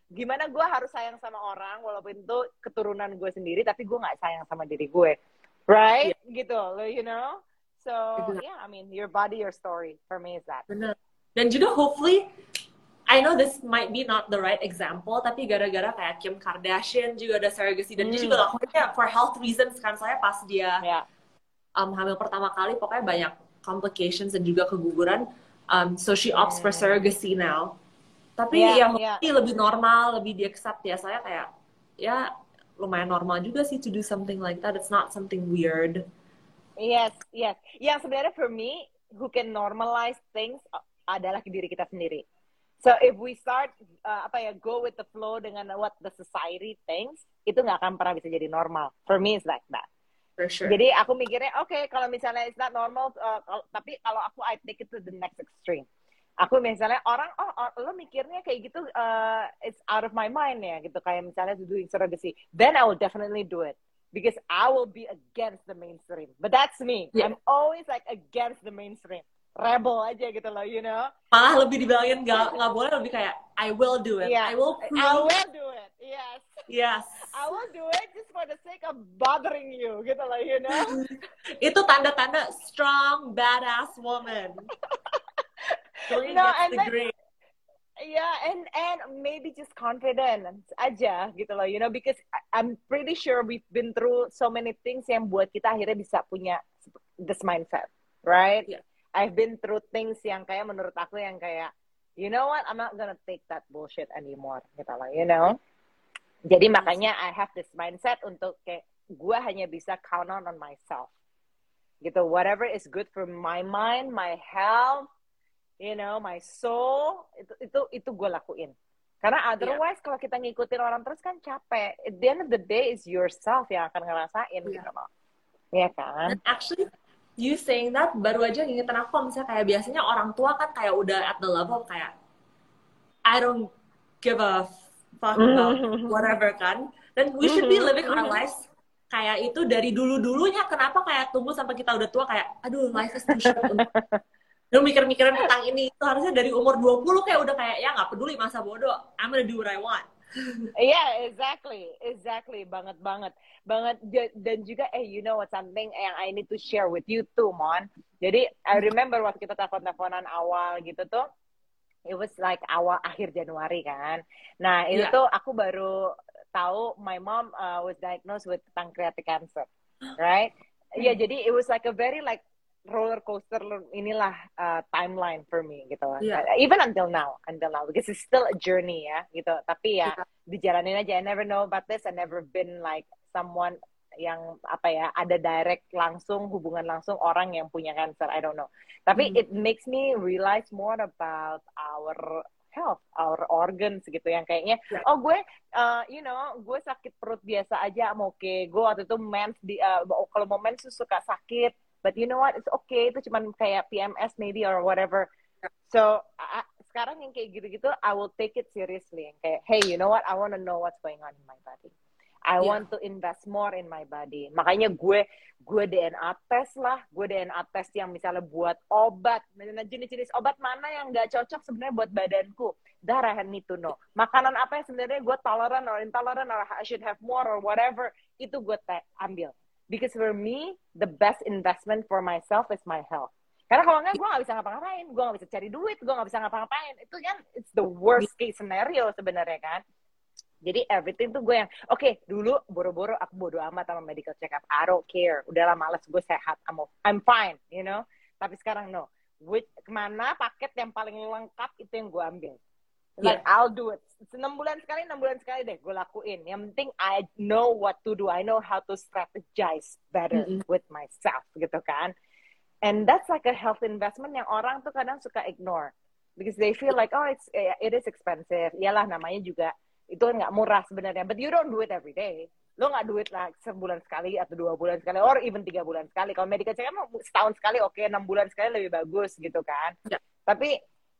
gimana gue harus sayang sama orang walaupun itu keturunan gue sendiri, tapi gue nggak sayang sama diri gue, right? Iya, Gitu, you know. So exactly. yeah, I mean, your body, your story. For me is that. Bener. Dan juga hopefully, I know this might be not the right example, tapi gara-gara kayak Kim Kardashian juga ada surrogacy, dan dia juga lakukannya for health reasons kan. Soalnya pas dia Yeah. Hamil pertama kali, pokoknya banyak complications dan juga keguguran. So she opts for surrogacy now. Tapi ya mungkin lebih normal, lebih di-accept ya. Soalnya kayak, ya lumayan normal juga sih to do something like that. It's not something weird. Yes. Yang sebenarnya for me, who can normalize things adalah diri kita sendiri. So if we start go with the flow dengan what the society thinks, itu nggak akan pernah bisa jadi normal. For me it's like that. For sure. Jadi aku mikirnya, okay, kalau misalnya it's not normal, tapi kalau aku I take it to the next extreme. Aku misalnya orang, lo mikirnya kayak gitu, it's out of my mind ya, gitu. Kayak misalnya doing surrogacy. Then I will definitely do it. Because I will be against the mainstream. But that's me. Yeah. I'm always like against the mainstream. Rebel aja gitu loh, you know. Malah lebih dibilangin nggak boleh, lebih kayak I will do it. Yeah. I will do it. Yes. Yes. I will do it just for the sake of bothering you, gitu loh, you know. Itu tanda-tanda strong, badass woman. No, and then, yeah, and maybe just confidence aja gitu loh, you know, because I'm pretty sure we've been through so many things yang buat kita akhirnya bisa punya this mindset, right? Yeah. I've been through things yang kayak menurut aku yang kayak, you know what, I'm not gonna take that bullshit anymore, gitu loh, you know. Jadi makanya I have this mindset untuk kayak gue hanya bisa count on myself, gitu. Whatever is good for my mind, my health, you know, my soul, itu gue lakuin. Karena otherwise kalau kita ngikutin orang terus kan capek. At the end of the day is yourself yang akan ngerasain gitu loh. Iya kan? And actually, you saying that baru aja ngingetin aku, misalnya kayak biasanya orang tua kan kayak udah at the level kayak I don't give a fuck about whatever kan. Dan we should be living our lives kayak itu dari dulu-dulunya. Kenapa kayak tunggu sampai kita udah tua kayak aduh life is too short untuk lu mikir-mikirin tentang ini. Itu harusnya dari umur 20 kayak udah kayak ya nggak peduli masa bodoh, I'm gonna do what I want. Yeah, exactly, banget. Dan juga, you know what, something yang I need to share with you too, Mon. Jadi I remember waktu kita teleponan awal gitu tuh, it was like akhir Januari kan. Nah itu tuh aku baru tahu my mom was diagnosed with pancreatic cancer, right? Yeah, jadi it was like a very like roller coaster inilah timeline for me gitu. Even until now because it's still a journey ya gitu. Tapi ya dijalanin aja. I never know about this. I never been like someone yang ada direct langsung hubungan langsung orang yang punya cancer. I don't know. Tapi it makes me realize more about our health, our organs gitu yang kayaknya gue you know, gue sakit perut biasa aja oke. Gue waktu itu mens kalau mau mens suka sakit. But you know what, it's okay, itu cuman kayak PMS maybe or whatever. So, sekarang yang kayak gitu-gitu, I will take it seriously. Yang kayak, hey, you know what, I want to know what's going on in my body. I want to invest more in my body. Makanya gue DNA test lah, gue DNA test yang misalnya buat obat. Nah, jenis-jenis obat mana yang nggak cocok sebenarnya buat badanku. That I need to know. Makanan apa yang sebenarnya gue tolerant or intolerant or I should have more or whatever, itu gue ambil. Because for me, the best investment for myself is my health. Karena kalau enggak, gue gak bisa ngapa-ngapain. Gue gak bisa cari duit, gue gak bisa ngapa-ngapain. Itu kan, it's the worst case scenario sebenarnya kan. Jadi everything tuh gue yang, okay, dulu boro-boro aku bodo amat sama medical check up. I don't care. Udahlah males, gue sehat. I'm fine, you know. Tapi sekarang no. Kemana paket yang paling lengkap itu yang gue ambil. Like I'll do it. 6 bulan sekali deh gue lakuin. Yang penting I know what to do. I know how to strategize better with myself gitu kan. And that's like a health investment yang orang tuh kadang suka ignore because they feel like it is expensive. Iyalah namanya juga itu kan nggak murah sebenarnya. But you don't do it every day. Lo nggak do it like sebulan sekali atau 2 bulan sekali or even 3 bulan sekali. Kalau medical check up setahun sekali oke, 6 bulan sekali lebih bagus gitu kan. Tapi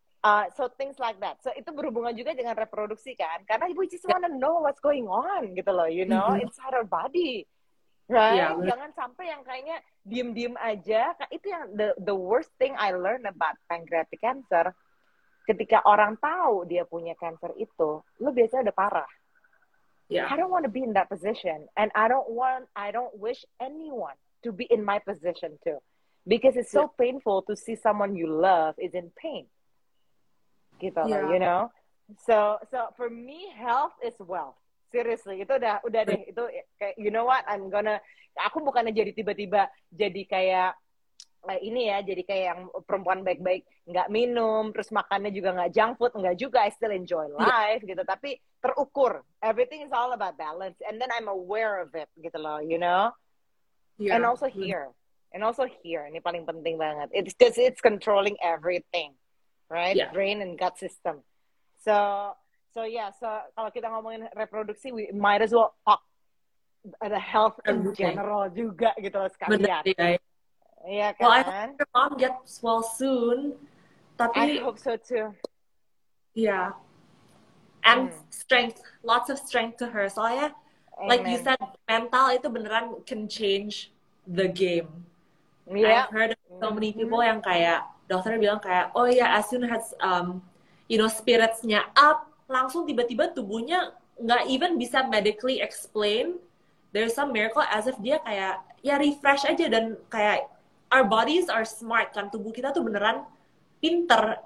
so things like that. So itu berhubungan juga dengan reproduksi kan. Karena we just wanna know what's going on gitu loh, you know, inside our body. Right? Jangan sampai yang kayaknya diem-diem aja. Itu yang the worst thing I learned about pancreatic cancer. ketika orang tahu dia punya cancer itu, lu biasanya udah parah. Yeah. I don't want to be in that position, and I don't wish anyone to be in my position too, because it's so painful to see someone you love is in pain. Gitu loh, you know. So for me, health is wealth. Seriously, itu udah deh, itu kayak, you know what, aku bukannya jadi tiba-tiba jadi kayak ini ya, jadi kayak yang perempuan baik-baik, nggak minum, terus makannya juga nggak junk food, nggak juga, I still enjoy life gitu, tapi terukur. Everything is all about balance, and then I'm aware of it gitu loh, you know. And also here, ini paling penting banget. It's because it's controlling everything, right? Brain and gut system. So kalau kita ngomongin reproduksi, we might as well talk the health in general juga gitu loh sekalian. Iya kan? Well, I hope your mom gets well soon. Tapi I hope so too. Yeah. And strength, lots of strength to her. Soalnya, like you said, mental itu beneran can change the game. I've heard of so many people yang kayak, dokternya bilang kayak, oh ya, as soon as, spirits-nya up, langsung tiba-tiba tubuhnya nggak even bisa medically explain. There's some miracle as if dia kayak, ya refresh aja, dan kayak, our bodies are smart kan, tubuh kita tuh beneran pinter.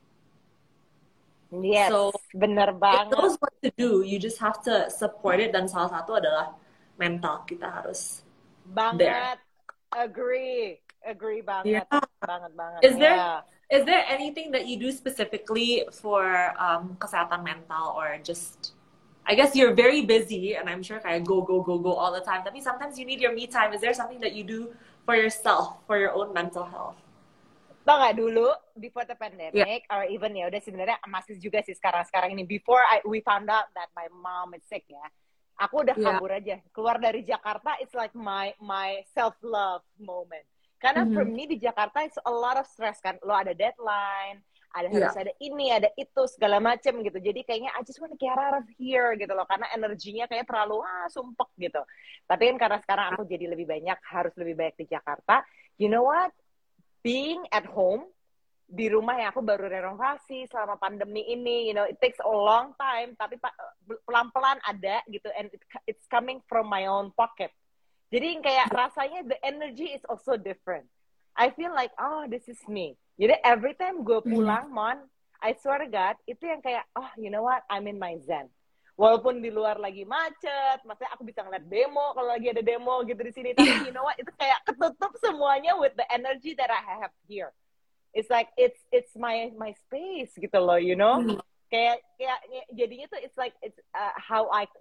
Yes, so, bener banget. It knows what to do, you just have to support it, dan salah satu adalah mental, kita harus banget, agree banget, banget. Is there anything that you do specifically for kesehatan mental, or just, I guess you're very busy, and I'm sure kayak go all the time, tapi sometimes you need your me time. Is there something that you do for yourself, for your own mental health? Tau gak dulu, before the pandemic, or even ya udah sebenarnya masih juga sih sekarang ini, before we found out that my mom is sick ya, aku udah kabur aja, keluar dari Jakarta, it's like my self-love moment. Karena for me di Jakarta it's a lot of stress kan, lo ada deadline, harus ada ini, ada itu, segala macem gitu. Jadi kayaknya I just want to get out of here gitu loh. Karena energinya kayak terlalu sumpek gitu. Tapi kan karena sekarang aku jadi harus lebih banyak di Jakarta. You know what? Being at home, di rumah yang aku baru renovasi selama pandemi ini, you know, it takes a long time. Tapi pelan-pelan ada gitu. And it's coming from my own pocket. Jadi kayak rasanya the energy is also different. I feel like, oh, this is me. Jadi every time gue pulang, I swear to God, itu yang kayak, oh, you know what, I'm in my zen. Walaupun di luar lagi macet, maksudnya aku bisa ngeliat demo, kalau lagi ada demo gitu di sini, tapi you know what, itu kayak ketutup semuanya with the energy that I have here. It's like, it's my space gitu loh, you know? Kayak jadinya tuh, it's like, it's how I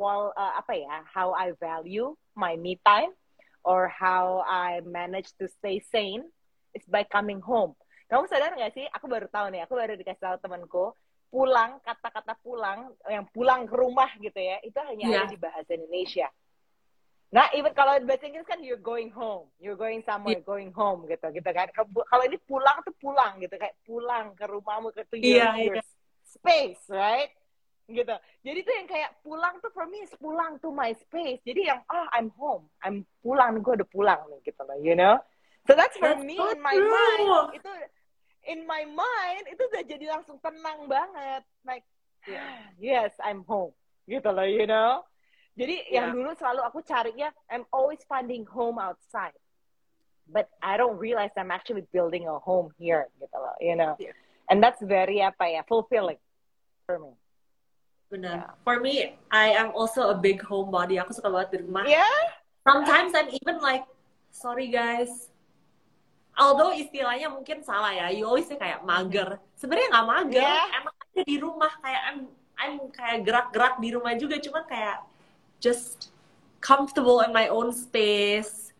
how I value my me time, or how I manage to stay sane, it's by coming home. Kamu sadar nggak sih? Aku baru tahu nih. Aku baru dikasih tahu temanku. Pulang, kata-kata pulang, yang pulang ke rumah gitu ya, itu hanya ada di bahasa Indonesia. Nah, even kalau bahasa Inggris kan you're going home, you're going somewhere, going home gitu kan. Kalau ini pulang tuh pulang gitu, kayak pulang ke rumahmu, ke your space, right? Gitu. Jadi tuh yang kayak pulang tuh for me is pulang to my space. Jadi yang I'm home, I'm pulang, gue udah pulang nih gitu loh, you know. So that's for me in my mind. Itu in my mind itu udah jadi langsung tenang banget, like yes, I'm home gitu loh, you know. Jadi yang dulu selalu aku carinya, I'm always finding home outside, but I don't realize I'm actually building a home here gitu loh, you know. And that's very fulfilling for me. Benar. For me, I am also a big homebody. Aku suka banget di rumah. Sometimes I'm even like, sorry guys, although istilahnya mungkin salah ya, you always say kayak mager. Sebenarnya nggak mager, emang aja di rumah kayak I'm kayak gerak-gerak di rumah juga, cuman kayak just comfortable in my own space.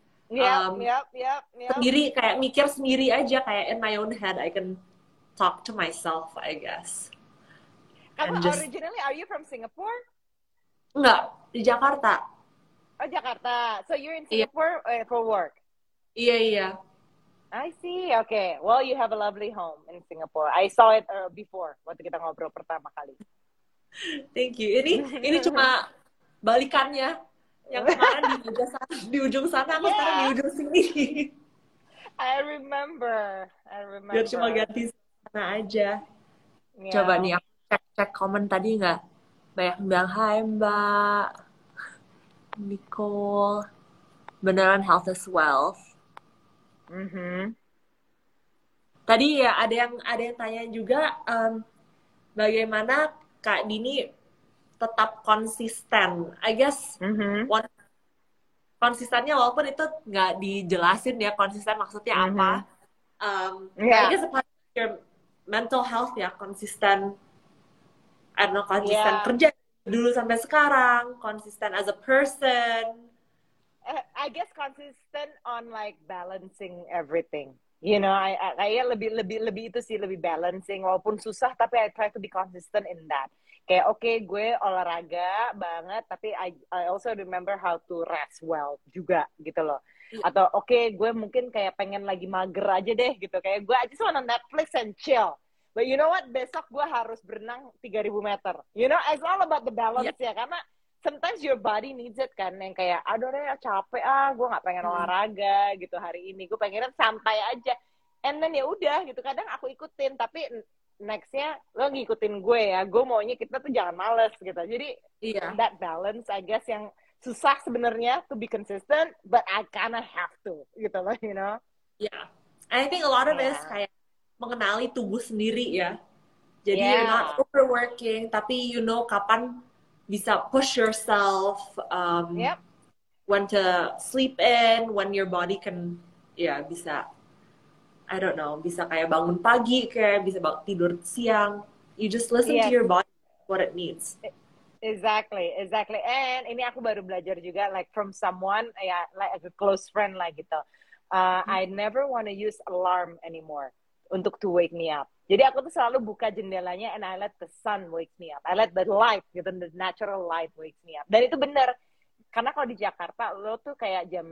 Sendiri, kayak mikir sendiri aja, kayak in my own head I can talk to myself, I guess. Originally, are you from Singapore? Enggak, di Jakarta. Oh, Jakarta. So you're in Singapore for work? Iya. I see. Okay. Well, you have a lovely home in Singapore. I saw it before waktu kita ngobrol pertama kali. Thank you. Ini cuma balikannya. Yang kemarin di ujung sana, aku sekarang di ujung sini. I remember. Biar cuma ganti sana aja. Coba Yeah. nih aku cek komen tadi nggak? Banyak yang bilang, hai Mbak Nicole, beneran health is wealth. Mhm. Tadi ya ada yang tanya juga, bagaimana Kak Dini tetap konsisten. I guess Mhm. one konsistennya walaupun itu nggak dijelasin ya konsisten maksudnya Mhm. apa. But I Yeah. guess apart from your mental health ya konsisten, I don't know, konsisten Yeah. kerja dulu sampai sekarang, konsisten as a person. I guess consistent on like balancing everything. You know, kayak lebih itu sih, lebih balancing walaupun susah, tapi I try to be consistent in that. Kayak gue olahraga banget, tapi I also remember how to rest well juga gitu loh. Atau gue mungkin kayak pengen lagi mager aja deh gitu. Kayak gue aja wanna Netflix and chill. But you know what? Besok gue harus berenang 3.000 meter. You know, it's all about the balance ya. Karena sometimes your body needs it kan, yang kayak aduh deh capek gue nggak pengen olahraga gitu hari ini, gue pengen santai aja, and then ya udah gitu, kadang aku ikutin, tapi nextnya lo ngikutin gue ya, gue maunya kita tuh jangan males gitu, jadi that balance I guess yang susah sebenarnya to be consistent, but I kinda have to gitu loh, you know. Yeah, I think a lot of it is Yeah. kayak mengenali tubuh sendiri ya. Jadi you're not Yeah. overworking, tapi you know kapan bisa push yourself, Yep. when to sleep in, when your body can, ya bisa, I don't know, bisa kayak bangun pagi, kayak bisa tidur siang. You just listen to Yes. your body, what it needs. Exactly. And ini aku baru belajar juga, like from someone, ya, like a close friend lah gitu. I never want to use alarm anymore untuk to wake me up. Jadi aku tuh selalu buka jendelanya and I let the sun wake me up. I let the light, gitu, the natural light wake me up. Dan itu benar. Karena kalau di Jakarta, lo tuh kayak jam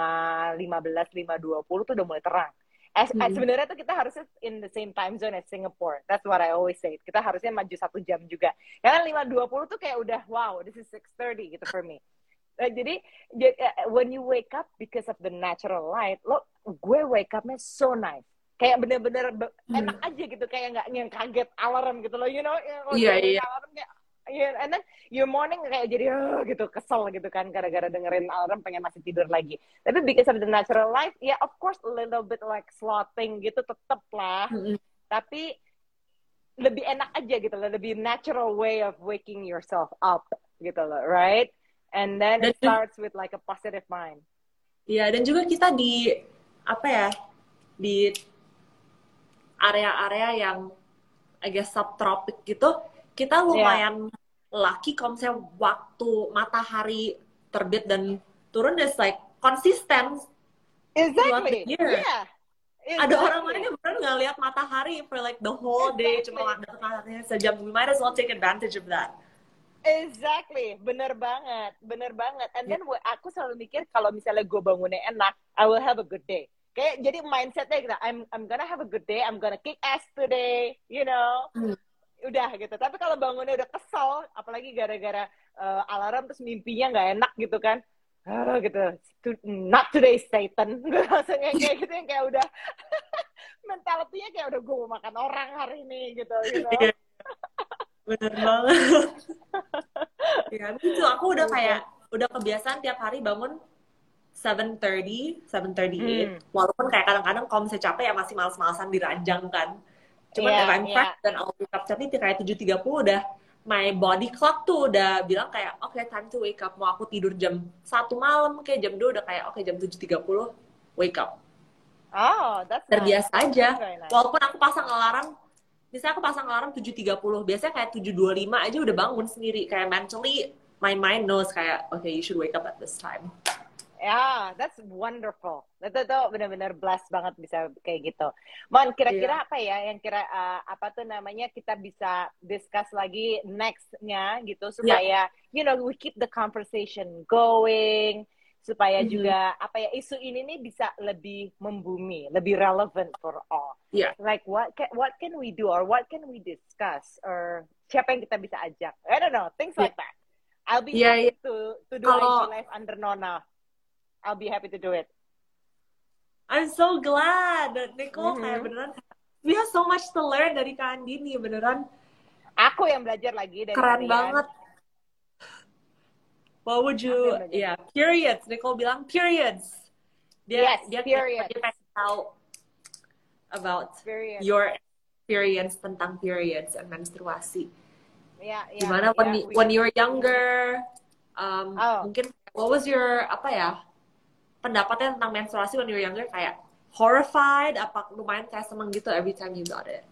5.15, 5.20 tuh udah mulai terang. Sebenarnya tuh kita harusnya in the same time zone as Singapore. That's what I always say. Kita harusnya maju 1 jam juga. Karena 5.20 tuh kayak udah, wow, this is 6:30 gitu for me. Jadi, when you wake up because of the natural light, gue wake up-nya so nice. Kayak bener-bener enak aja gitu. Kayak nggak yang kaget alarm gitu loh. You know, Iya. alarm kayak, and then your morning kayak jadi gitu, kesel gitu kan, gara-gara dengerin alarm pengen masih tidur lagi. Tapi because of the natural light, ya of course a little bit like slothing gitu tetep lah. Tapi lebih enak aja gitu loh, lebih natural way of waking yourself up gitu loh, right? And then it starts with like a positive mind. Iya, dan juga kita di apa ya, di area-area yang I guess subtropik gitu, kita lumayan lucky kalau misalnya waktu matahari terbit dan turun, is like konsisten. Exactly. Yeah. Exactly. Ada orang lain yang beneran nggak lihat matahari for like the whole day, cuma dapat mataharinya sejam. We might as well take advantage of that. Exactly, bener banget. And then aku selalu mikir kalau misalnya gue bangunnya enak, I will have a good day. Kayak jadi mindsetnya gitu, I'm gonna have a good day, I'm gonna kick ass today, you know. Udah gitu. Tapi kalau bangunnya udah kesel, apalagi gara-gara alarm terus mimpinya nggak enak gitu kan, gitu. Not today, Satan. Gue langsung kayak gitu, yang kayak udah mentalitinya kayak udah gue mau makan orang hari ini gitu, you know. Bener banget. Ya, itu aku udah kayak udah kebiasaan tiap hari bangun 7:30, 7:38. Walaupun kayak kadang-kadang kalau misalnya capek ya masih males-malesan diranjang kan. Cuman if I'm fresh dan I'll wake up, tapi kayak 7.30 udah my body clock tuh udah bilang kayak time to wake up. Mau aku tidur jam 1 malam kayak jam 2 udah kayak jam 7.30 wake up. Oh, that's terbiasa nice. aja. Nice. Walaupun aku pasang alarm, misalnya aku pasang alarm 7.30, biasanya kayak 7.25 aja udah bangun sendiri. Kayak mentally, my mind knows kayak, okay, you should wake up at this time. Yeah, that's wonderful. Itu tuh benar-benar blessed banget bisa kayak gitu. Mon, kira-kira apa ya yang apa tuh namanya kita bisa discuss lagi next-nya gitu supaya you know we keep the conversation going, supaya juga apa ya isu ini nih bisa lebih membumi, lebih relevant for all. Like what can we do or what can we discuss or siapa yang kita bisa ajak? I don't know, things like that. I'll be happy to do IG live under Nona. I'll be happy to do it. I'm so glad that Nicole kayak beneran we have so much to learn dari Kak Andini, beneran. Aku yang belajar lagi dari Keren kalian. banget. What would you, periods. Nicole bilang periods. Dia periods. Dia pengen tahu about Periods. your experience tentang periods and menstruasi. Gimana when you were younger, mungkin what was your pendapatnya tentang menstruasi when you were younger? Kayak horrified, apa lumayan kayak seneng gitu every time you got it?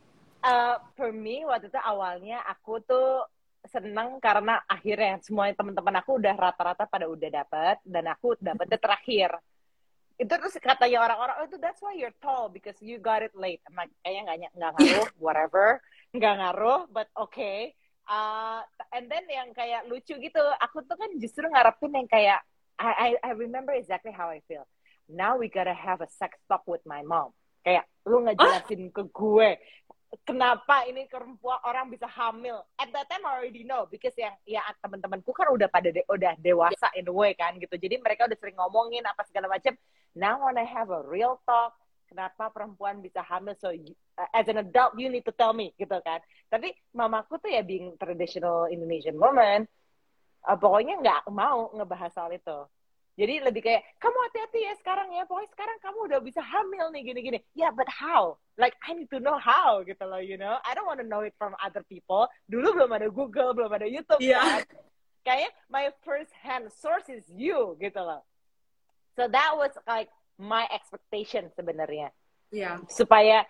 For me waktu itu awalnya aku tuh seneng karena akhirnya semua teman-teman aku udah rata-rata pada udah dapat dan aku dapetnya terakhir. Itu terus katanya orang-orang, oh itu that's why you're tall because you got it late. Kayaknya nggak ngaruh, whatever, nggak ngaruh, but okay. And then yang kayak lucu gitu, aku tuh kan justru ngarepin yang kayak I remember exactly how I feel. Now we gotta have a sex talk with my mom. Kayak lu ngejelasin ke gue kenapa ini perempuan orang bisa hamil. At that time I already know because yang teman-temanku kan udah udah dewasa in a way kan gitu. Jadi mereka udah sering ngomongin apa segala macam. Now when I have a real talk, kenapa perempuan bisa hamil? So as an adult you need to tell me gitu kan. Tapi mamaku tuh ya being traditional Indonesian woman, pokoknya nggak mau ngebahas soal itu. Jadi lebih kayak, kamu hati-hati ya sekarang ya, pokoknya sekarang kamu udah bisa hamil nih, gini-gini. Yeah, but how? Like, I need to know how, gitu loh, you know? I don't want to know it from other people. Dulu belum ada Google, belum ada YouTube, kan? Kayaknya my first hand source is you, gitu loh. So that was like my expectation sebenarnya. Yeah. Supaya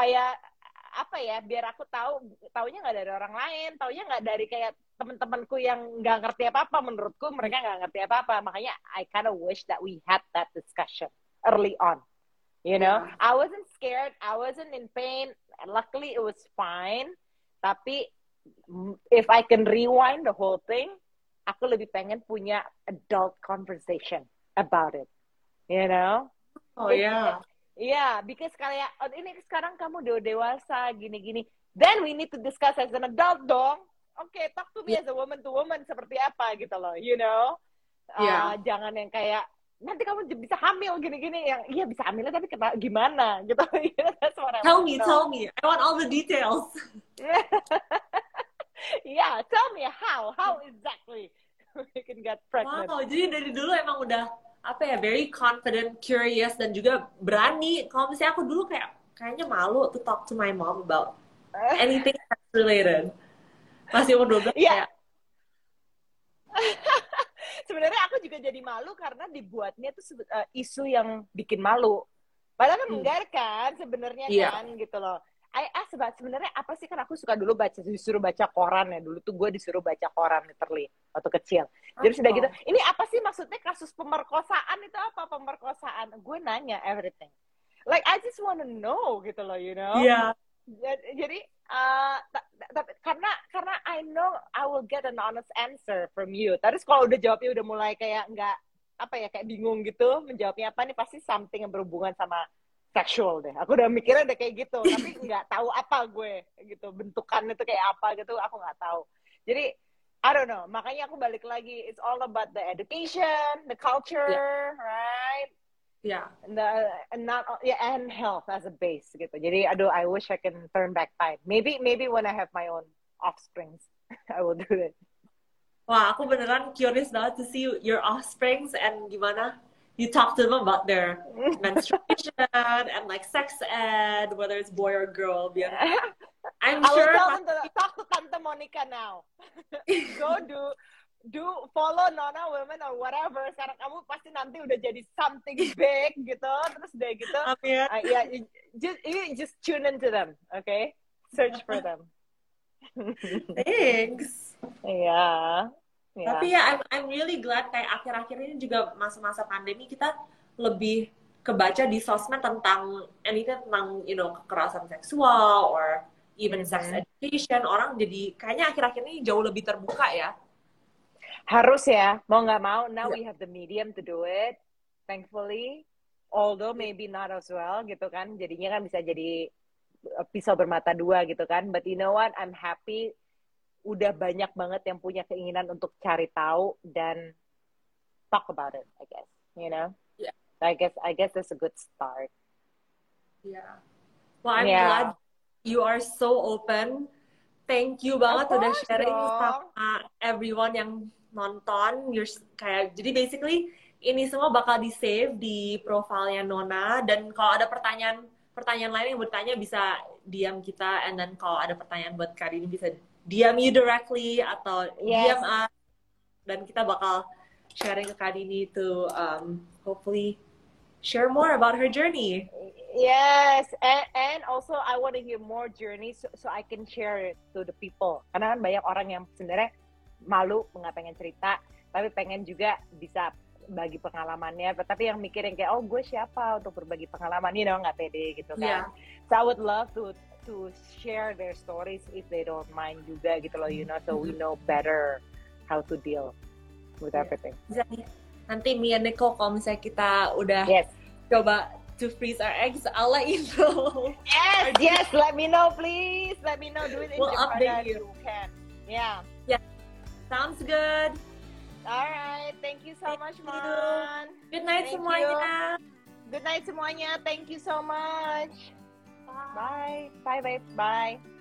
apa ya, biar aku taunya nggak dari orang lain, taunya nggak dari kayak teman-temanku yang nggak ngerti apa-apa. Menurutku mereka nggak ngerti apa-apa, makanya I kind of wish that we had that discussion early on, you know. I wasn't scared, I wasn't in pain, luckily it was fine. Tapi if I can rewind the whole thing, aku lebih pengen punya adult conversation about it, you know. Yeah, because kayak ini sekarang kamu udah dewasa gini-gini. Then we need to discuss as an adult dong. Okay, talk to me as a woman to woman seperti apa gitu loh, you know. Jangan yang kayak nanti kamu bisa hamil gini-gini yang iya bisa hamilnya tapi gimana gitu. That's what I tell me. I want all the details. Yeah, tell me how exactly we can get pregnant. Wow, jadi dari dulu emang udah very confident, curious, dan juga berani. Kalau misalnya aku dulu kayaknya malu to talk to my mom about anything that's related. Masih umur 12 kayak. Sebenarnya aku juga jadi malu karena dibuatnya tuh isu yang bikin malu. Padahal kan enggak kan sebenarnya kan gitu loh. Sebenarnya apa sih, kan aku suka dulu disuruh baca koran ya. Dulu tuh gue disuruh baca koran literally waktu kecil. Jadi sudah gitu, ini apa sih maksudnya kasus pemerkosaan itu apa? Pemerkosaan. Gue nanya everything. Like I just wanna know gitu loh, you know. Iya. Jadi karena I know I will get an honest answer from you. Terus kalau udah jawabnya udah mulai kayak nggak kayak bingung gitu menjawabnya apa nih, pasti something yang berhubungan sama sexual deh. Aku udah mikirnya udah kayak gitu, tapi nggak tahu apa gue gitu, bentukannya tuh kayak apa gitu, aku nggak tahu. Jadi I don't know. Makanya aku balik lagi, it's all about the education, the culture, right? Yeah. And health as a base gitu. Jadi I wish I can turn back time. Maybe when I have my own offsprings, I will do it. Wah, aku beneran curious banget to see your offsprings and gimana you talk to them about their menstruation and like sex ed, whether it's boy or girl. I'm sure. I will tell them to talk to Tante Monica now. Go do follow Nona Women or whatever. Sekarang kamu pasti nanti udah jadi something big gitu. Terus udah gitu. You just tune into them, okay? Search for them. Thanks. Yeah. Tapi ya, I'm really glad kayak akhir-akhir ini juga masa-masa pandemi kita lebih kebaca di sosmed tentang anything tentang kekerasan seksual or even sex education. Orang jadi kayaknya akhir-akhir ini jauh lebih terbuka ya. Harus ya, mau nggak mau. Now we have the medium to do it, thankfully. Although maybe not as well gitu kan. Jadinya kan bisa jadi pisau bermata dua gitu kan. But you know what? I'm happy. Udah banyak banget yang punya keinginan untuk cari tahu dan talk about it, I guess. You know? Yeah. I guess that's a good start. Yeah. Well, I'm glad you are so open. Thank you banget udah sharing sama everyone yang nonton. Jadi basically ini semua bakal di save di profilnya Nona, dan kalau ada pertanyaan lain yang bertanya bisa DM kita, and then kalau ada pertanyaan buat Kak Dini bisa DM you directly atau DM us, dan kita bakal sharing ke Kak Dini to hopefully share more about her journey. Yes, and also I want to hear more journeys so I can share it to the people. Karena kan banyak orang yang sebenarnya malu, nggak pengen cerita, tapi pengen juga bisa bagi pengalamannya. Tapi yang mikirin kayak, oh gue siapa untuk berbagi pengalaman, nggak pede gitu kan. So I would love to share their stories if they don't mind juga gitu loh, so we know better how to deal with everything. Nanti me and Nicole kalau misalnya kita udah coba to freeze our eggs, I'll let you know. Yes, let me know, please. Let me know. Do it in we'll Japan. Update you. Can. Yeah. Sounds good. All right. Thank you so much, Mon. Good night semuanya. Good night semuanya. Thank you so much. Bye. Bye, babe. Bye.